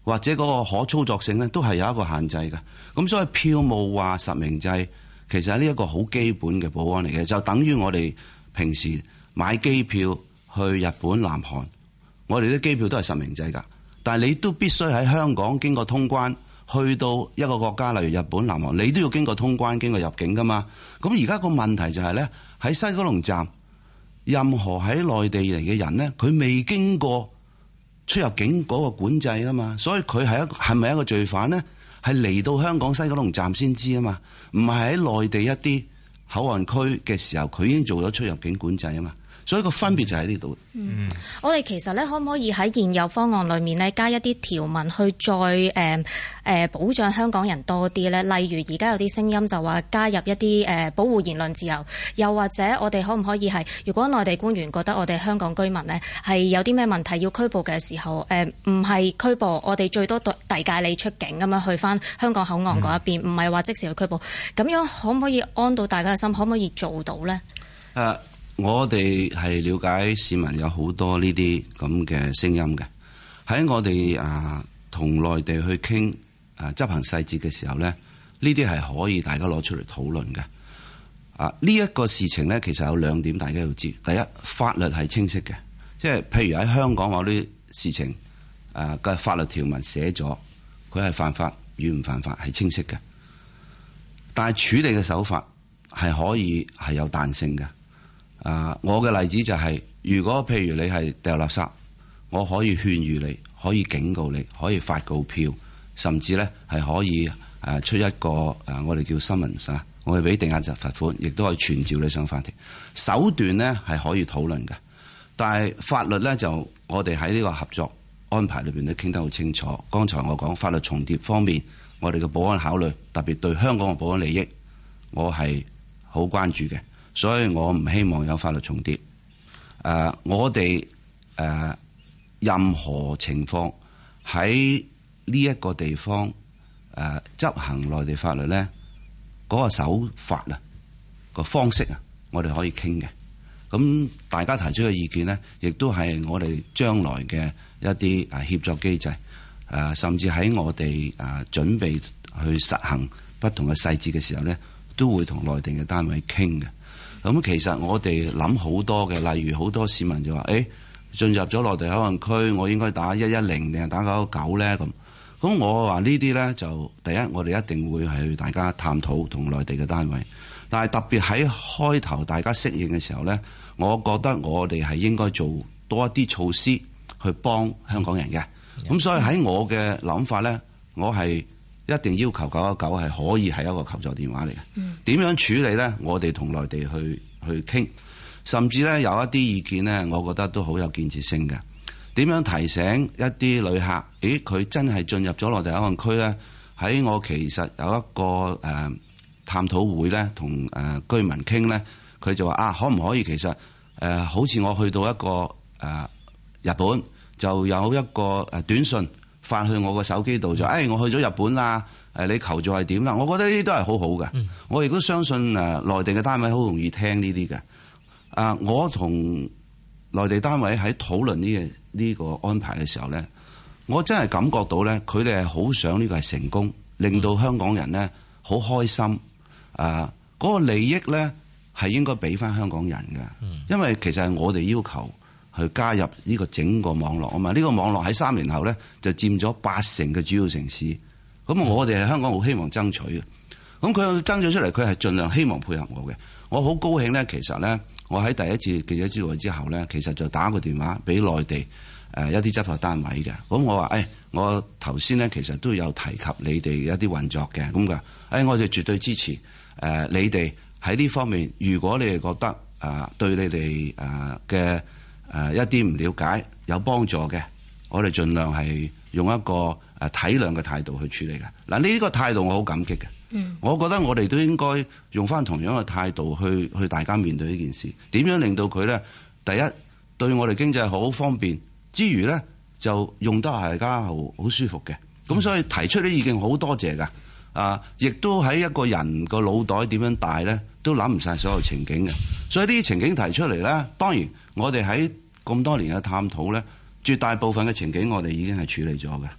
或者嗰個可操作性咧，都係有一個限制嘅。咁所以票務話實名制，其實係呢一個好基本嘅保安嚟嘅，就等於我哋平時買機票去日本、南韓，我哋啲機票都係實名制㗎。但係你都必須喺香港經過通關，去到一個國家，例如日本、南韓，你都要經過通關、經過入境㗎嘛。咁而家個問題就係咧，喺西九龍站，任何喺內地嚟嘅人咧，佢未經過出入境嗰個管制啊嘛，所以佢係咪一個罪犯咧？係嚟到香港西九龍站先知啊嘛，唔係喺內地一啲口岸區嘅時候，佢已經做咗出入境管制啊嘛。所以個分別就喺呢度。 我哋其實咧，可唔可以喺現有方案裏面咧，加一啲條文去再保障香港人多啲咧？例如而家有啲聲音就話加入一啲保護言論自由，又或者我哋可唔可以係，如果內地官員覺得我哋香港居民呢係有啲咩問題要拘捕嘅時候，唔係拘捕，我哋最多遞解你出境咁樣去返香港口岸嗰一邊，唔係話即時去拘捕。咁樣可唔可以安到大家嘅心？可唔可以做到呢？ 我哋係了解市民有好多呢啲咁嘅聲音嘅，喺我哋同內地去傾執行細節嘅時候呢，呢啲係可以大家攞出嚟討論嘅。呢一個事情呢，其實有兩點大家要知。第一，法律係清晰嘅，即係譬如喺香港某啲事情嘅法律條文寫咗，佢係犯法與唔犯法係清晰嘅。但係處理嘅手法係可以係有彈性嘅。我嘅例子就係，如果譬如你係掉垃圾，我可以勸喻你，可以警告你，可以發告票，甚至呢係可以出一個我哋叫 summons，我哋俾定額罰款，亦都可以傳召你上法庭。手段呢係可以討論嘅，但係法律呢，就我哋喺呢個合作安排裏邊都傾得好清楚。剛才我講法律重疊方面，我哋嘅保安考慮，特別對香港嘅保安利益，我係好關注嘅。所以我唔希望有法律重疊。我哋任何情況喺呢一個地方執行內地法律呢，嗰個手法個方式我哋可以傾嘅。咁大家提出嘅意見呢，亦都係我哋將來嘅一啲協作機制。甚至喺我哋準備去實行不同嘅細節嘅時候呢，都會同內地嘅單位傾嘅。咁其實我哋諗好多嘅，例如好多市民就話：進入咗內地口岸區，我應該打110定係打999呢？咁我話呢啲呢，就第一，我哋一定會係大家探討同內地嘅單位。但係特別喺開頭大家適應嘅時候呢，我覺得我哋係應該做多一啲措施去幫香港人嘅。咁所以喺我嘅諗法呢，我係一定要求919係可以係一個求助電話嚟嘅。點樣處理呢？我哋同內地去傾，甚至呢有一啲意見呢，我覺得都好有建設性嘅。點樣提醒一啲旅客？佢真係進入咗內地口岸區呢？喺我其實有一個探討會呢，同居民傾呢，佢就話可唔可以其實好似我去到一個日本，就有一個短信發去我個手機度，就我去咗日本啦，你求助係點啦？我覺得呢啲都係好好嘅。我亦都相信內地嘅單位好容易聽呢啲嘅。我同內地單位喺討論呢個安排嘅時候呢，我真係感覺到呢，佢哋係好想呢個係成功，令到香港人呢好開心。嗰個利益呢係應該俾翻香港人嘅，因為其實係我哋要求去加入呢個整個網絡啊嘛。呢個網絡喺3年後呢就佔咗80%嘅主要城市。咁我哋係香港好希望爭取嘅。咁佢爭取出嚟，佢係盡量希望配合我嘅。我好高興呢，其實呢，我喺第一次記者招待之後呢，其實就打個電話俾內地一啲執法單位嘅。咁我話我頭先呢，其實都有提及你哋一啲運作嘅。咁嘅我哋絕對支持你哋喺呢方面。如果你哋覺得對你哋嘅一啲唔了解有幫助嘅，我哋盡量係用一個體諒嘅態度去處理嘅。嗱，呢個態度我好感激嘅。我覺得我哋都應該用翻同樣嘅態度去大家面對呢件事。點樣令到佢呢？第一，對我哋經濟好方便之餘呢，就用得大家好舒服嘅。咁所以提出啲意見好多謝㗎。亦都喺一個人個腦袋點樣大呢，都諗唔晒所有情景嘅。所以呢啲情景提出嚟呢，當然我哋喺咁多年嘅探討呢，絕大部分嘅情景我哋已經係處理咗嘅。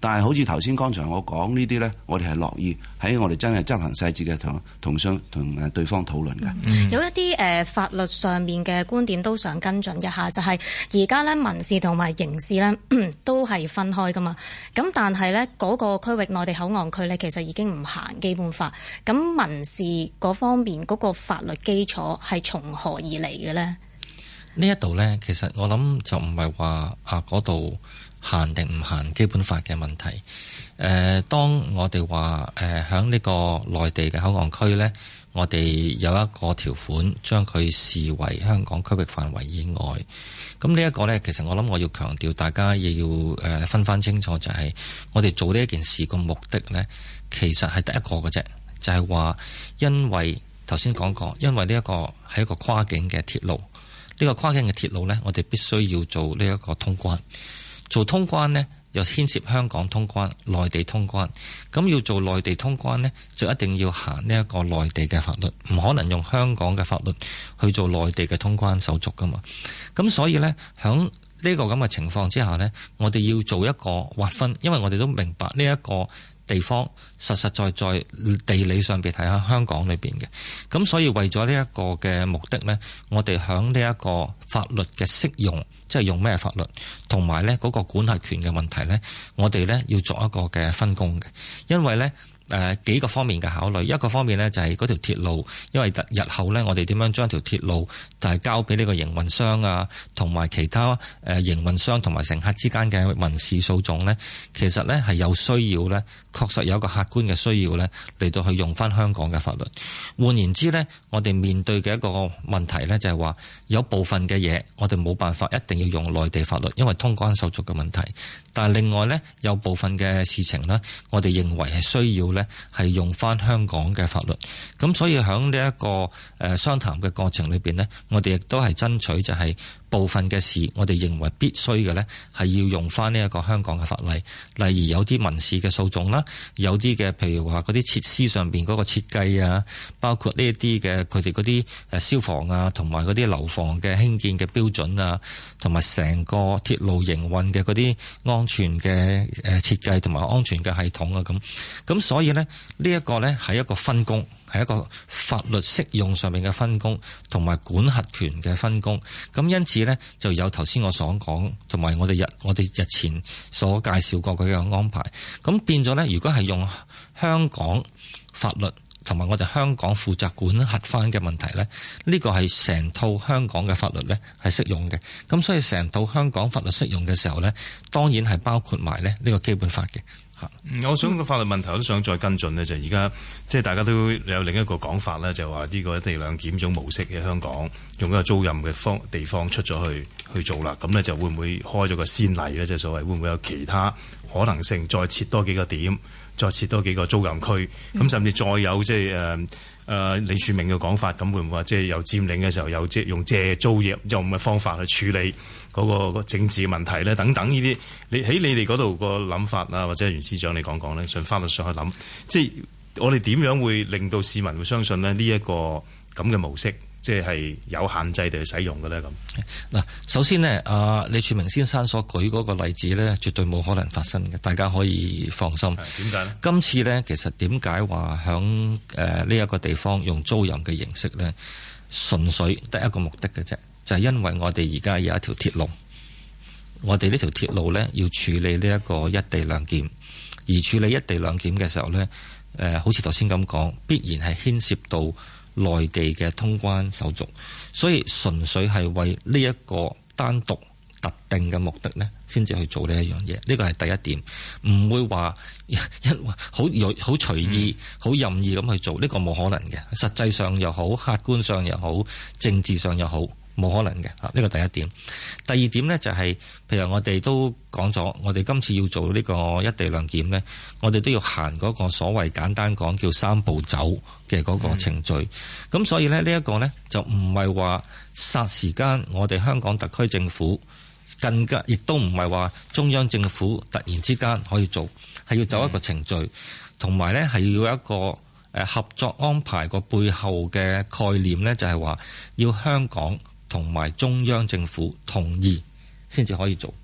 但係好似頭先剛才我講呢啲呢，我哋係樂意喺我哋真係執行細節嘅同對方討論嘅。 有一啲法律上面嘅觀點都想跟進一下，就係而家呢民事同埋刑事呢都係分開噶嘛。咁但係呢嗰個區域內地口岸區呢，其實已經唔行基本法。咁民事嗰方面嗰個法律基礎係從何而嚟嘅呢？ 呢一度呢，其實我諗就唔係話嗰度限定唔限基本法嘅問題。當我哋話響呢個內地嘅口岸區呢，我哋有一個條款將佢視為香港區域範圍以外。咁呢一個呢，其實我諗我要強調，大家亦要分翻清楚，就係我哋做呢一件事個目的呢，其實係得一個嘅啫，就係話因為頭先講過，因為呢一個係一個跨境嘅鐵路，呢個跨境嘅鐵路呢，我哋必須要做呢一個通關。做通關呢，又牽涉香港通關、內地通關。咁要做內地通關呢，就一定要行呢一個內地嘅法律，唔可能用香港嘅法律去做內地嘅通關手續噶嘛。咁所以呢，響呢個咁嘅情況之下呢，我哋要做一個劃分，因為我哋都明白呢一個地方實實在在地理上邊係喺香港裏邊嘅。咁所以為咗呢一個嘅目的呢，我哋響呢一個法律嘅適用，即係用咩法律，同埋呢嗰個管轄權嘅問題呢，我哋呢要作一個嘅分工嘅。因為呢幾個方面嘅考慮，一個方面呢就係嗰條鐵路，因為日後呢我哋點樣將條鐵路交俾呢個營運商啊，同埋其他營運商同埋乘客之間嘅民事訴訟呢，其實呢係有需要呢，確實有一個客觀嘅需要呢嚟到去用翻香港嘅法律。換言之呢，我哋面對嘅一個問題呢，就係話有部分嘅嘢我哋冇辦法一定要用內地法律，因為通關手續嘅問題。但係另外呢，有部分嘅事情呢，我哋認為係需要呢係用翻香港嘅法律。咁所以喺呢一個商談嘅過程裏邊呢，我哋亦都係爭取就係部分嘅事，我哋認為必須嘅呢係要用翻呢一個香港嘅法例。例如有啲民事嘅訴訟啦，有啲嘅譬如話嗰啲設施上邊嗰個設計啊，包括呢一啲嘅佢哋嗰啲消防啊，同埋嗰啲樓房嘅興建嘅標準啊，同埋成個鐵路營運嘅嗰啲安全嘅設計同埋安全嘅系統啊，咁所以呢，呢一個呢係一個分工，係一個法律適用上面嘅分工，同埋管轄權嘅分工。咁因此呢，就有頭先我所講，同埋我哋日前所介紹過佢嘅安排。咁變咗呢，如果係用香港法律同埋我哋香港負責管轄翻嘅問題呢，呢個係成套香港嘅法律呢係適用嘅。咁所以成套香港法律適用嘅時候呢，當然係包括埋呢個基本法嘅。 我想個法律問題我都想再跟進呢，就而家即係大家都有另一個講法呢，就話呢個一地兩檢種模式喺香港用一個租賃嘅地方出咗去做啦，咁呢就會唔會開咗個先例呢？即係所謂會唔會有其他可能性再設多幾個點，再設多幾個租賃區，咁甚至再有即係李柱銘嘅講法，咁會唔會話即係有佔領嘅時候有即係用借租業用嘅方法去處理嗰個政治問題咧？等等呢啲，你喺你哋嗰度個諗法啊，或者袁司長你講講咧，從法律上去諗，即係我哋點樣會令到市民會相信咧呢一個咁嘅模式，即係有限制地去使用嘅咧？咁嗱，首先呢，李柱銘先生所舉嗰個例子呢，絕對冇可能發生嘅，大家可以放心。 點解呢？ 今次呢，其實點解話響呢一個地方用租賃嘅形式呢？純粹得一個目的嘅啫，就係因為我哋而家有一條鐵路，我哋呢條鐵路呢，要處理呢一個一地兩檢，而處理一地兩檢嘅時候呢，好似頭先咁講，必然係牽涉到內地嘅通關手續，所以純粹係為呢一個單獨特定嘅目的呢，先至去做呢一樣嘢。呢個係第一點，唔會話好隨意、好任意咁去做，呢個冇可能嘅。實際上又好，客觀上又好，政治上又好，冇可能嘅。呢個第一點。第二點呢，就係，譬如我哋都講咗，我哋今次要做呢個一地兩檢呢，我哋都要行嗰個所謂簡單講叫三步走嘅嗰個程序。咁所以呢，呢一個呢，就唔係話霎時間我哋香港特區政府更加，亦都唔係話中央政府突然之間可以做，係要走一個程序，同埋呢係要有一個合作安排個背後嘅概念呢，就係話要香港同埋中央政府同意先至可以做。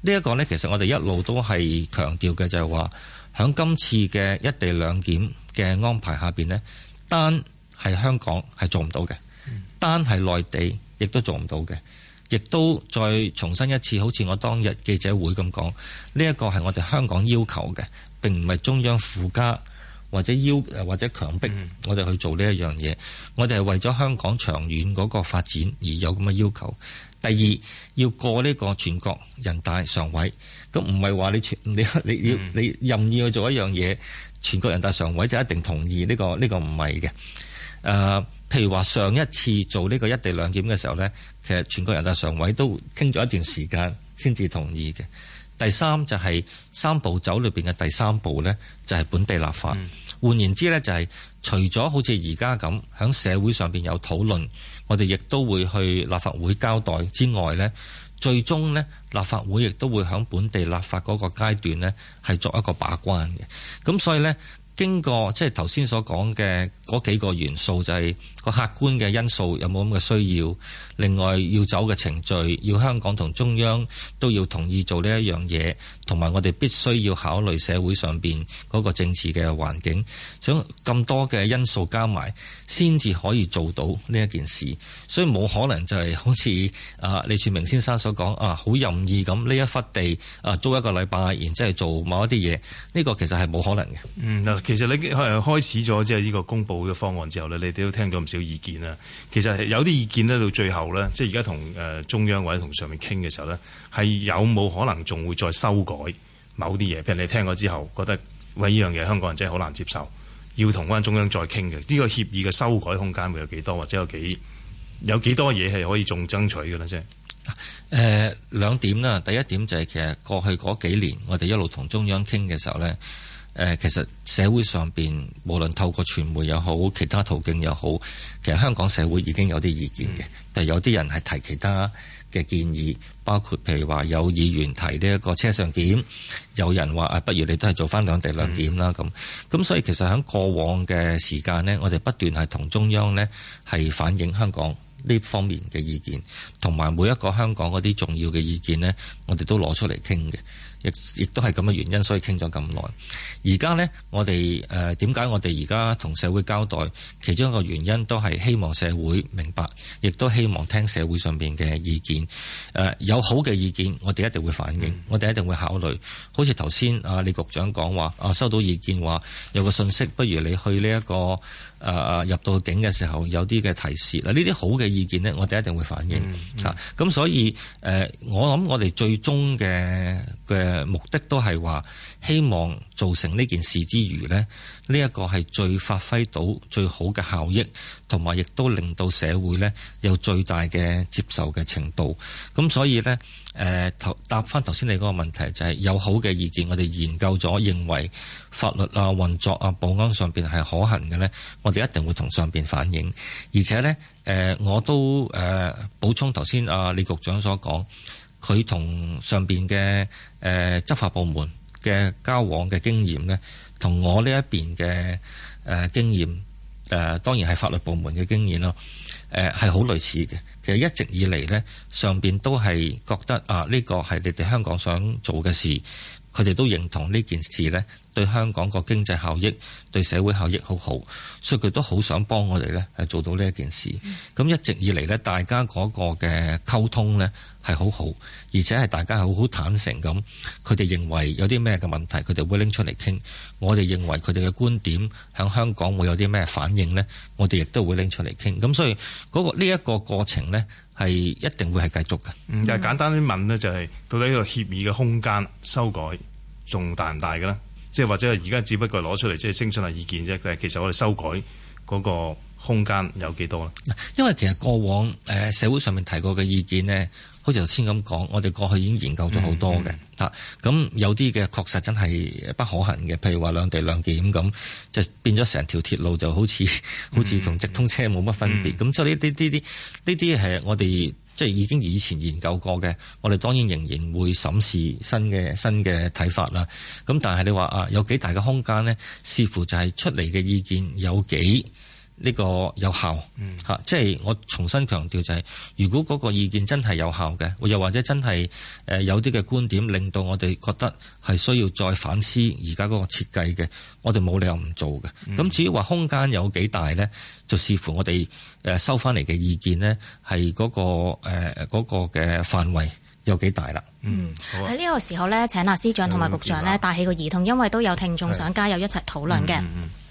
呢一個呢，其實我哋一路都係強調嘅，就係話響今次嘅一地兩檢嘅安排下邊呢，單係香港係做唔到嘅，單係內地亦都做唔到嘅，亦都再重申一次，好似我當日記者會咁講，呢一個係我哋香港要求嘅，並唔係中央附加或者強迫我哋去做呢一樣嘢。我哋係為咗香港長遠嗰個發展而有咁嘅要求。第二，要過呢個全國人大常委，咁唔係話你任意去做一樣嘢，全國人大常委就一定同意，呢個唔係嘅。譬如話上一次做呢個一地兩檢嘅時候呢，其實全國人大常委都傾咗一段時間先至同意嘅。第三就係三步走裏邊嘅第三步呢，就係本地立法。換言之呢，就係除咗好似而家咁喺社會上邊有討論，我哋亦都會去立法會交代之外呢，最終呢，立法會亦都會喺本地立法嗰個階段呢，係作一個把關嘅。咁所以呢，經過即係頭先所講嘅嗰幾個元素，就係個客觀嘅因素有冇咁嘅需要，另外要走嘅程序，要香港同中央都要同意做呢一樣嘢，同埋我哋必須要考慮社會上邊嗰個政治嘅環境，想咁多嘅因素加埋，先至可以做到呢一件事。所以冇可能就係好似李柱銘先生所講好任意咁呢一忽地租一個禮拜，然之後做某一啲嘢，呢個其實係冇可能嘅。 其實你開始咗即係呢個公佈嘅方案之後呢，你哋都聽咗唔少意見啦。其實有啲意見呢，到最後呢，即係而家同中央或者同上面傾嘅時候呢，係有冇可能仲會再修改某啲嘢？譬如你聽過之後覺得喂，呢樣嘢香港人真係好難接受，要同翻中央再傾嘅呢個協議嘅修改空間會有幾多，或者有幾多嘢係可以仲爭取嘅呢？啫兩點啦。第一點就係其實過去嗰幾年我哋一路同中央傾嘅時候呢。其實社會上邊無論透過傳媒又好，其他途徑又好，其實香港社會已經有啲意見嘅。譬如有啲人係提其他嘅建議，包括譬如話有議員提呢一個車上檢，有人話不如你都係做翻兩地兩檢啦咁。所以其實喺過往嘅時間呢，我哋不斷係同中央呢係反映香港呢方面嘅意見，同埋每一個香港嗰啲重要嘅意見呢，我哋都攞出嚟傾嘅。亦都係咁嘅原因，所以傾咗咁耐。而家呢，我哋點解我哋而家同社會交代？其中一個原因都係希望社會明白，亦都希望聽社會上邊嘅意見。有好嘅意見，我哋一定會反映，我哋一定會考慮。好似頭先李局長講話，收到意見話有個信息，不如你去呢一個入到境嘅時候有啲嘅提示。嗱，呢啲好嘅意見呢，我哋一定會反映。咁所以我諗我哋最終嘅目的都係話，希望做成呢件事之餘呢，呢一個係最發揮到最好嘅效益，同埋亦都令到社會呢有最大嘅接受嘅程度。咁所以呢，答翻頭先你嗰個問題，就係有好嘅意見，我哋研究咗，認為法律運作保安上邊係可行嘅呢，我哋一定會同上邊反映。而且呢，我都補充頭先李局長所講，佢同上邊嘅執法部門嘅交往嘅經驗呢，同我呢一邊嘅經驗，當然係法律部門嘅經驗咯，係好類似嘅。其實一直以嚟呢，上邊都係覺得呢個係你哋香港想做嘅事，佢哋都認同呢件事呢對香港個經濟效益、對社會效益好好，所以佢都好想幫我哋呢係做到呢一件事。咁一直以嚟呢，大家嗰個嘅溝通呢係好好，而且係大家係好坦誠咁。佢哋認為有啲咩嘅問題，佢哋會拎出嚟傾。我哋認為佢哋嘅觀點喺香港會有啲咩反應呢，我哋亦都會拎出嚟傾。咁所以呢一個過程呢，係一定會係繼續嘅。 但係簡單啲問呢，就係到底呢個協議嘅空間修改仲大唔大嘅呢？即係或者而家只不過攞出嚟即係徵詢下意見啫，但係其實我哋修改嗰個空間有幾多呢？ 因為其實過往社會上面提過嘅意見呢，好似頭先咁講，我哋過去已經研究咗好多嘅。咁有啲嘅確實真係不可行嘅，譬如話兩地兩檢咁，就變咗成條鐵路就好似同直通車冇乜分別。咁所以呢啲係我哋即係已經以前研究過嘅，我哋當然仍然會審視新嘅睇法啦。咁但係你話有幾大嘅空間呢？視乎就係出嚟嘅意見有幾呢個有效即係我重新強調就係，如果嗰個意見真係有效嘅，又或者真係有啲嘅觀點令到我哋覺得係需要再反思而家嗰個設計嘅，我哋冇理由唔做嘅。咁至於話空間有幾大呢，就視乎我哋收翻嚟嘅意見呢，係嗰個嘅範圍有幾大啦。 喺呢個時候呢，請司長同埋局長呢帶起個議題，因為都有聽眾想加入一齊討論嘅。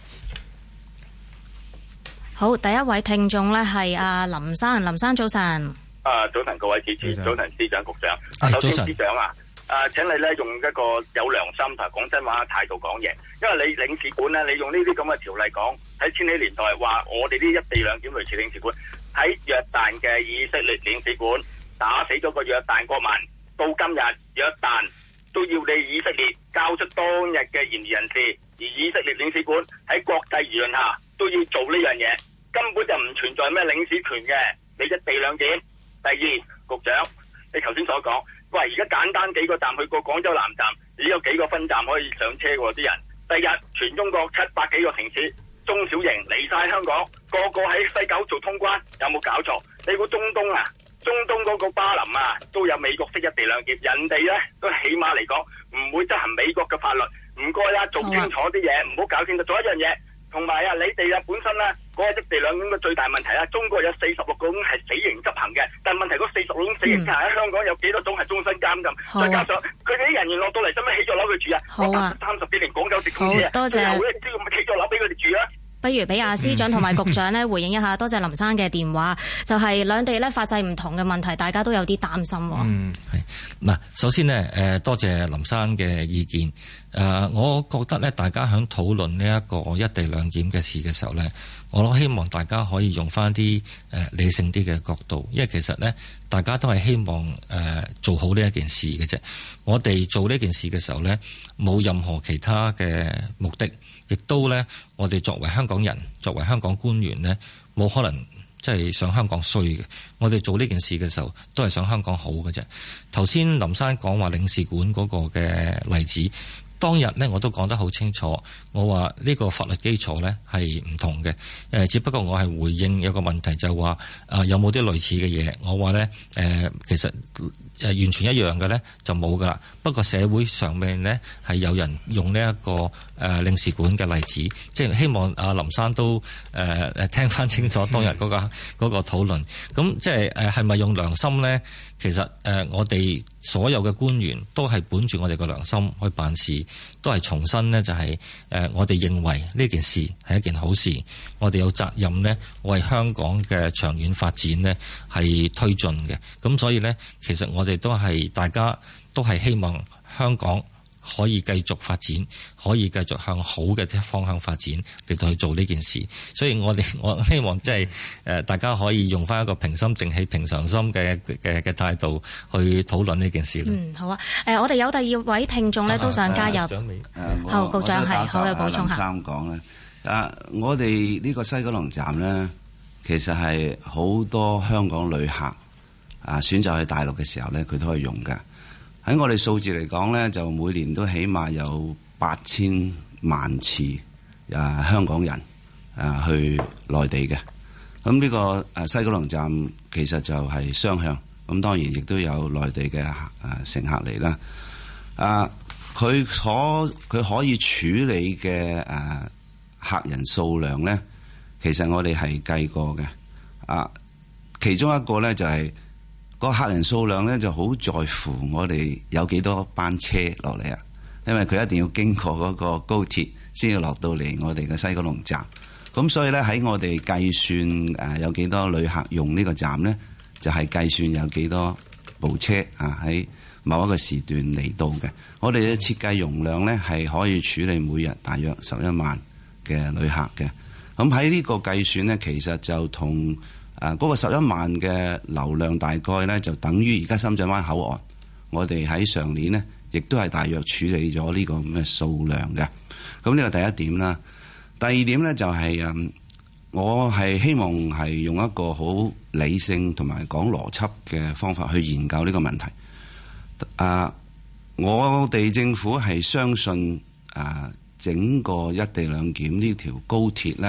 好，第一位聽眾呢係阿林生，林生早晨。 早晨各位主持，早晨司長局長。首先司長請你呢用一個有良心同講真話態度講嘢，因為你領事館呢，你用呢啲咁嘅條例講，喺千禧年代話我哋啲一地兩檢類似領事館，喺約旦嘅以色列領事館打死咗個約旦國民，到今日約旦都要你以色列交出當日嘅嫌疑人士，而以色列領事館喺國際輿論下都要做呢樣嘢。根本就唔存在咩領事權嘅，你一地兩檢。第二，局長，你頭先所講，喂，而家簡單幾個站去過廣州南站，已經有幾個分站可以上車喎啲人。第日全中國700幾個城市中小型嚟晒香港，個個喺西九做通關，有冇搞錯？你估中東中東嗰個巴林都有美國式一地兩檢，人哋呢都起碼嚟講唔會執行美國嘅法律。唔該做清楚啲嘢，唔好搞清楚。做一樣嘢。同埋你哋本身嗰個一地兩檢嘅最大問題中國有46個種係死刑執行嘅，但問題嗰46種死刑執行喺香港有幾多種係終身監禁？再加上佢哋啲人員落到嚟，使唔使起咗樓佢住啊？30幾年廣州直通車， 多謝。 起咗樓俾佢哋住啊！ 不如俾阿司長同埋局長呢回應一下，多謝林生嘅電話。就係兩地呢法制唔同嘅問題，大家都有啲擔心。 係嗱，首先呢，多謝林生嘅意見。我覺得呢，大家響討論呢一個一地兩檢嘅事嘅時候呢，我都希望大家可以用翻啲理性啲嘅角度，因為其實呢，大家都係希望做好呢一件事嘅啫。我哋做呢件事嘅時候呢，冇任何其他嘅目的。亦都呢，我哋作為香港人，作為香港官員呢，冇可能即係想香港衰嘅。我哋做呢件事嘅時候，都係想香港好嘅啫。頭先林生講話領事館嗰個嘅例子，當日呢我都講得好清楚，我話呢個法律基礎呢係唔同嘅。只不過我係回應有個問題，就係話有冇啲類似嘅嘢？我話呢，其實完全一樣嘅呢就冇噶啦。不過社會上面呢係有人用呢一個領事館嘅例子，即係希望阿林生都聽翻清楚當日嗰個討論。咁即係係咪用良心呢？其實我哋所有嘅官員都係本住我哋嘅良心去辦事，都係重申呢，就係我哋認為呢件事係一件好事，我哋有責任呢為香港嘅長遠發展呢係推進嘅。咁所以呢，其實我哋都係大家都係希望香港可以繼續發展，可以繼續向好嘅方向發展嚟到去做呢件事。所以我希望即係大家可以用翻一個平心靜氣、平常心嘅態度去討論呢件事。 好啊。我哋有第二位聽眾呢都想加入。好，局長係好有補充下。 林生講咧，我哋呢個西九龍站呢，其實係好多香港旅客選擇去大陸嘅時候呢，佢都可以用嘅。喺我哋數字嚟講呢，就每年都起碼有8000萬次香港人去內地嘅。咁呢個西九龍站其實就係雙向，咁當然亦都有內地嘅乘客嚟啦。佢可以處理嘅客人數量呢，其實我哋係計過嘅。其中一個呢，就係個客人數量呢，就好在乎我哋有幾多班車落嚟啊！因為佢一定要經過嗰個高鐵先要落到嚟我哋嘅西九龍站。咁所以呢，喺我哋計算有幾多旅客用呢個站呢，就係計算有幾多部車喺某一個時段嚟到嘅。我哋嘅設計容量呢，係可以處理每日大約11萬嘅旅客嘅。咁喺呢個計算呢，其實就同嗰個11萬嘅流量大概呢，就等於而家深圳灣口岸，我哋喺上年呢，亦都係大約處理咗呢個咁嘅數量嘅。咁呢個第一點啦。第二點呢，就係我係希望係用一個好理性同埋講邏輯嘅方法去研究呢個問題。我哋政府係相信整個一地兩檢呢條高鐵呢，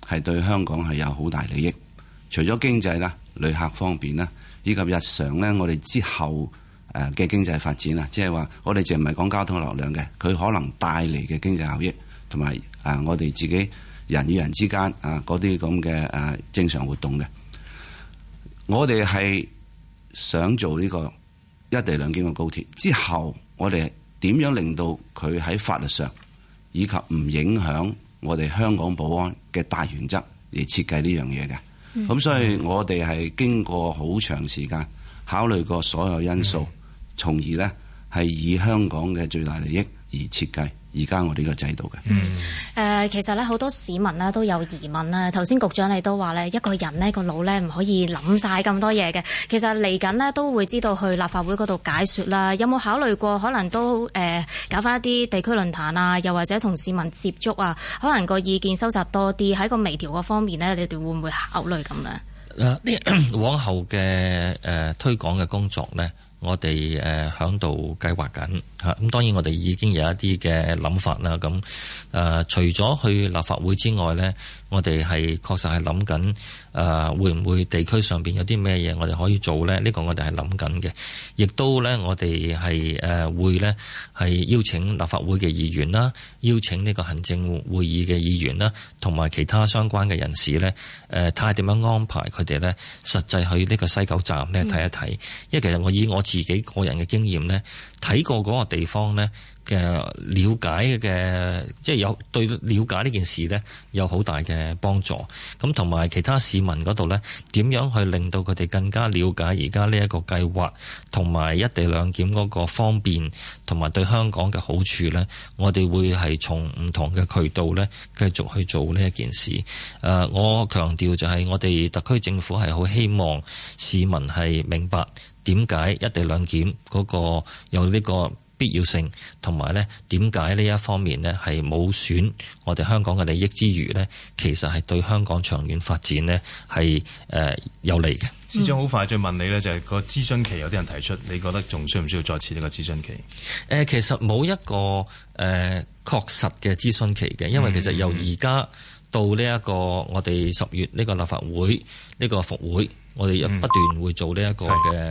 係對香港係有好大利益。除咗經濟啦、旅客方面啦，以及日常咧我哋之後嘅經濟發展啊，即係話我哋淨唔係講交通流量嘅，佢可能帶嚟嘅經濟效益，同埋我哋自己人與人之間嗰啲咁嘅正常活動嘅。我哋係想做呢個一地兩檢嘅高鐵之後，我哋點樣令到佢喺法律上以及唔影響我哋香港保安嘅大原則而設計呢樣嘢嘅。咁所以我哋係經過好長時間考慮過所有因素，從而呢係以香港嘅最大利益而設計而家我哋個制度嘅。 其實咧好多市民咧都有疑問啦。頭先局長你都話咧，一個人呢個腦咧唔可以諗晒咁多嘢嘅。其實嚟緊呢都會知道去立法會嗰度解說啦。有冇考慮過可能都搞翻一啲地區論壇啊，又或者同市民接觸啊，可能個意見收集多啲，喺個微調嗰方面呢，你哋會唔會考慮咁呢？ 往後嘅推廣嘅工作呢，我哋響度計劃緊嚇。咁當然我哋已經有一啲嘅諗法啦。咁除咗去立法會之外呢，我哋係確實係諗緊會唔會地區上邊有啲咩嘢我哋可以做呢？呢個我哋係諗緊嘅。亦都呢，我哋係會呢係邀請立法會嘅議員啦，邀請呢個行政會議嘅議員啦，同埋其他相關嘅人士呢，睇下點樣安排佢哋呢實際去呢個西九站呢睇一睇。因為其實我以我自己個人嘅經驗呢，睇過嗰個地方呢嘅了解嘅，即係有對了解呢件事呢有好大嘅幫助。咁同埋其他市民嗰度呢，點樣去令到佢哋更加了解而家呢一個計劃，同埋一地兩檢嗰個方便，同埋對香港嘅好處呢，我哋會係從唔同嘅渠道呢繼續去做呢一件事。我強調就係我哋特區政府係好希望市民係明白點解一地兩檢嗰個有呢個必要性，同埋呢點解呢一方面呢係冇損我哋香港嘅利益之餘呢，其實係對香港長遠發展呢係有利嘅。 司長好快再問你呢，就係個諮詢期有啲人提出，你覺得仲需唔需要再設呢個諮詢期？ 其實冇一個確實嘅諮詢期嘅，因為其實由而家到呢一個我哋10月呢個立法會呢個復會，我哋不斷會做呢一個嘅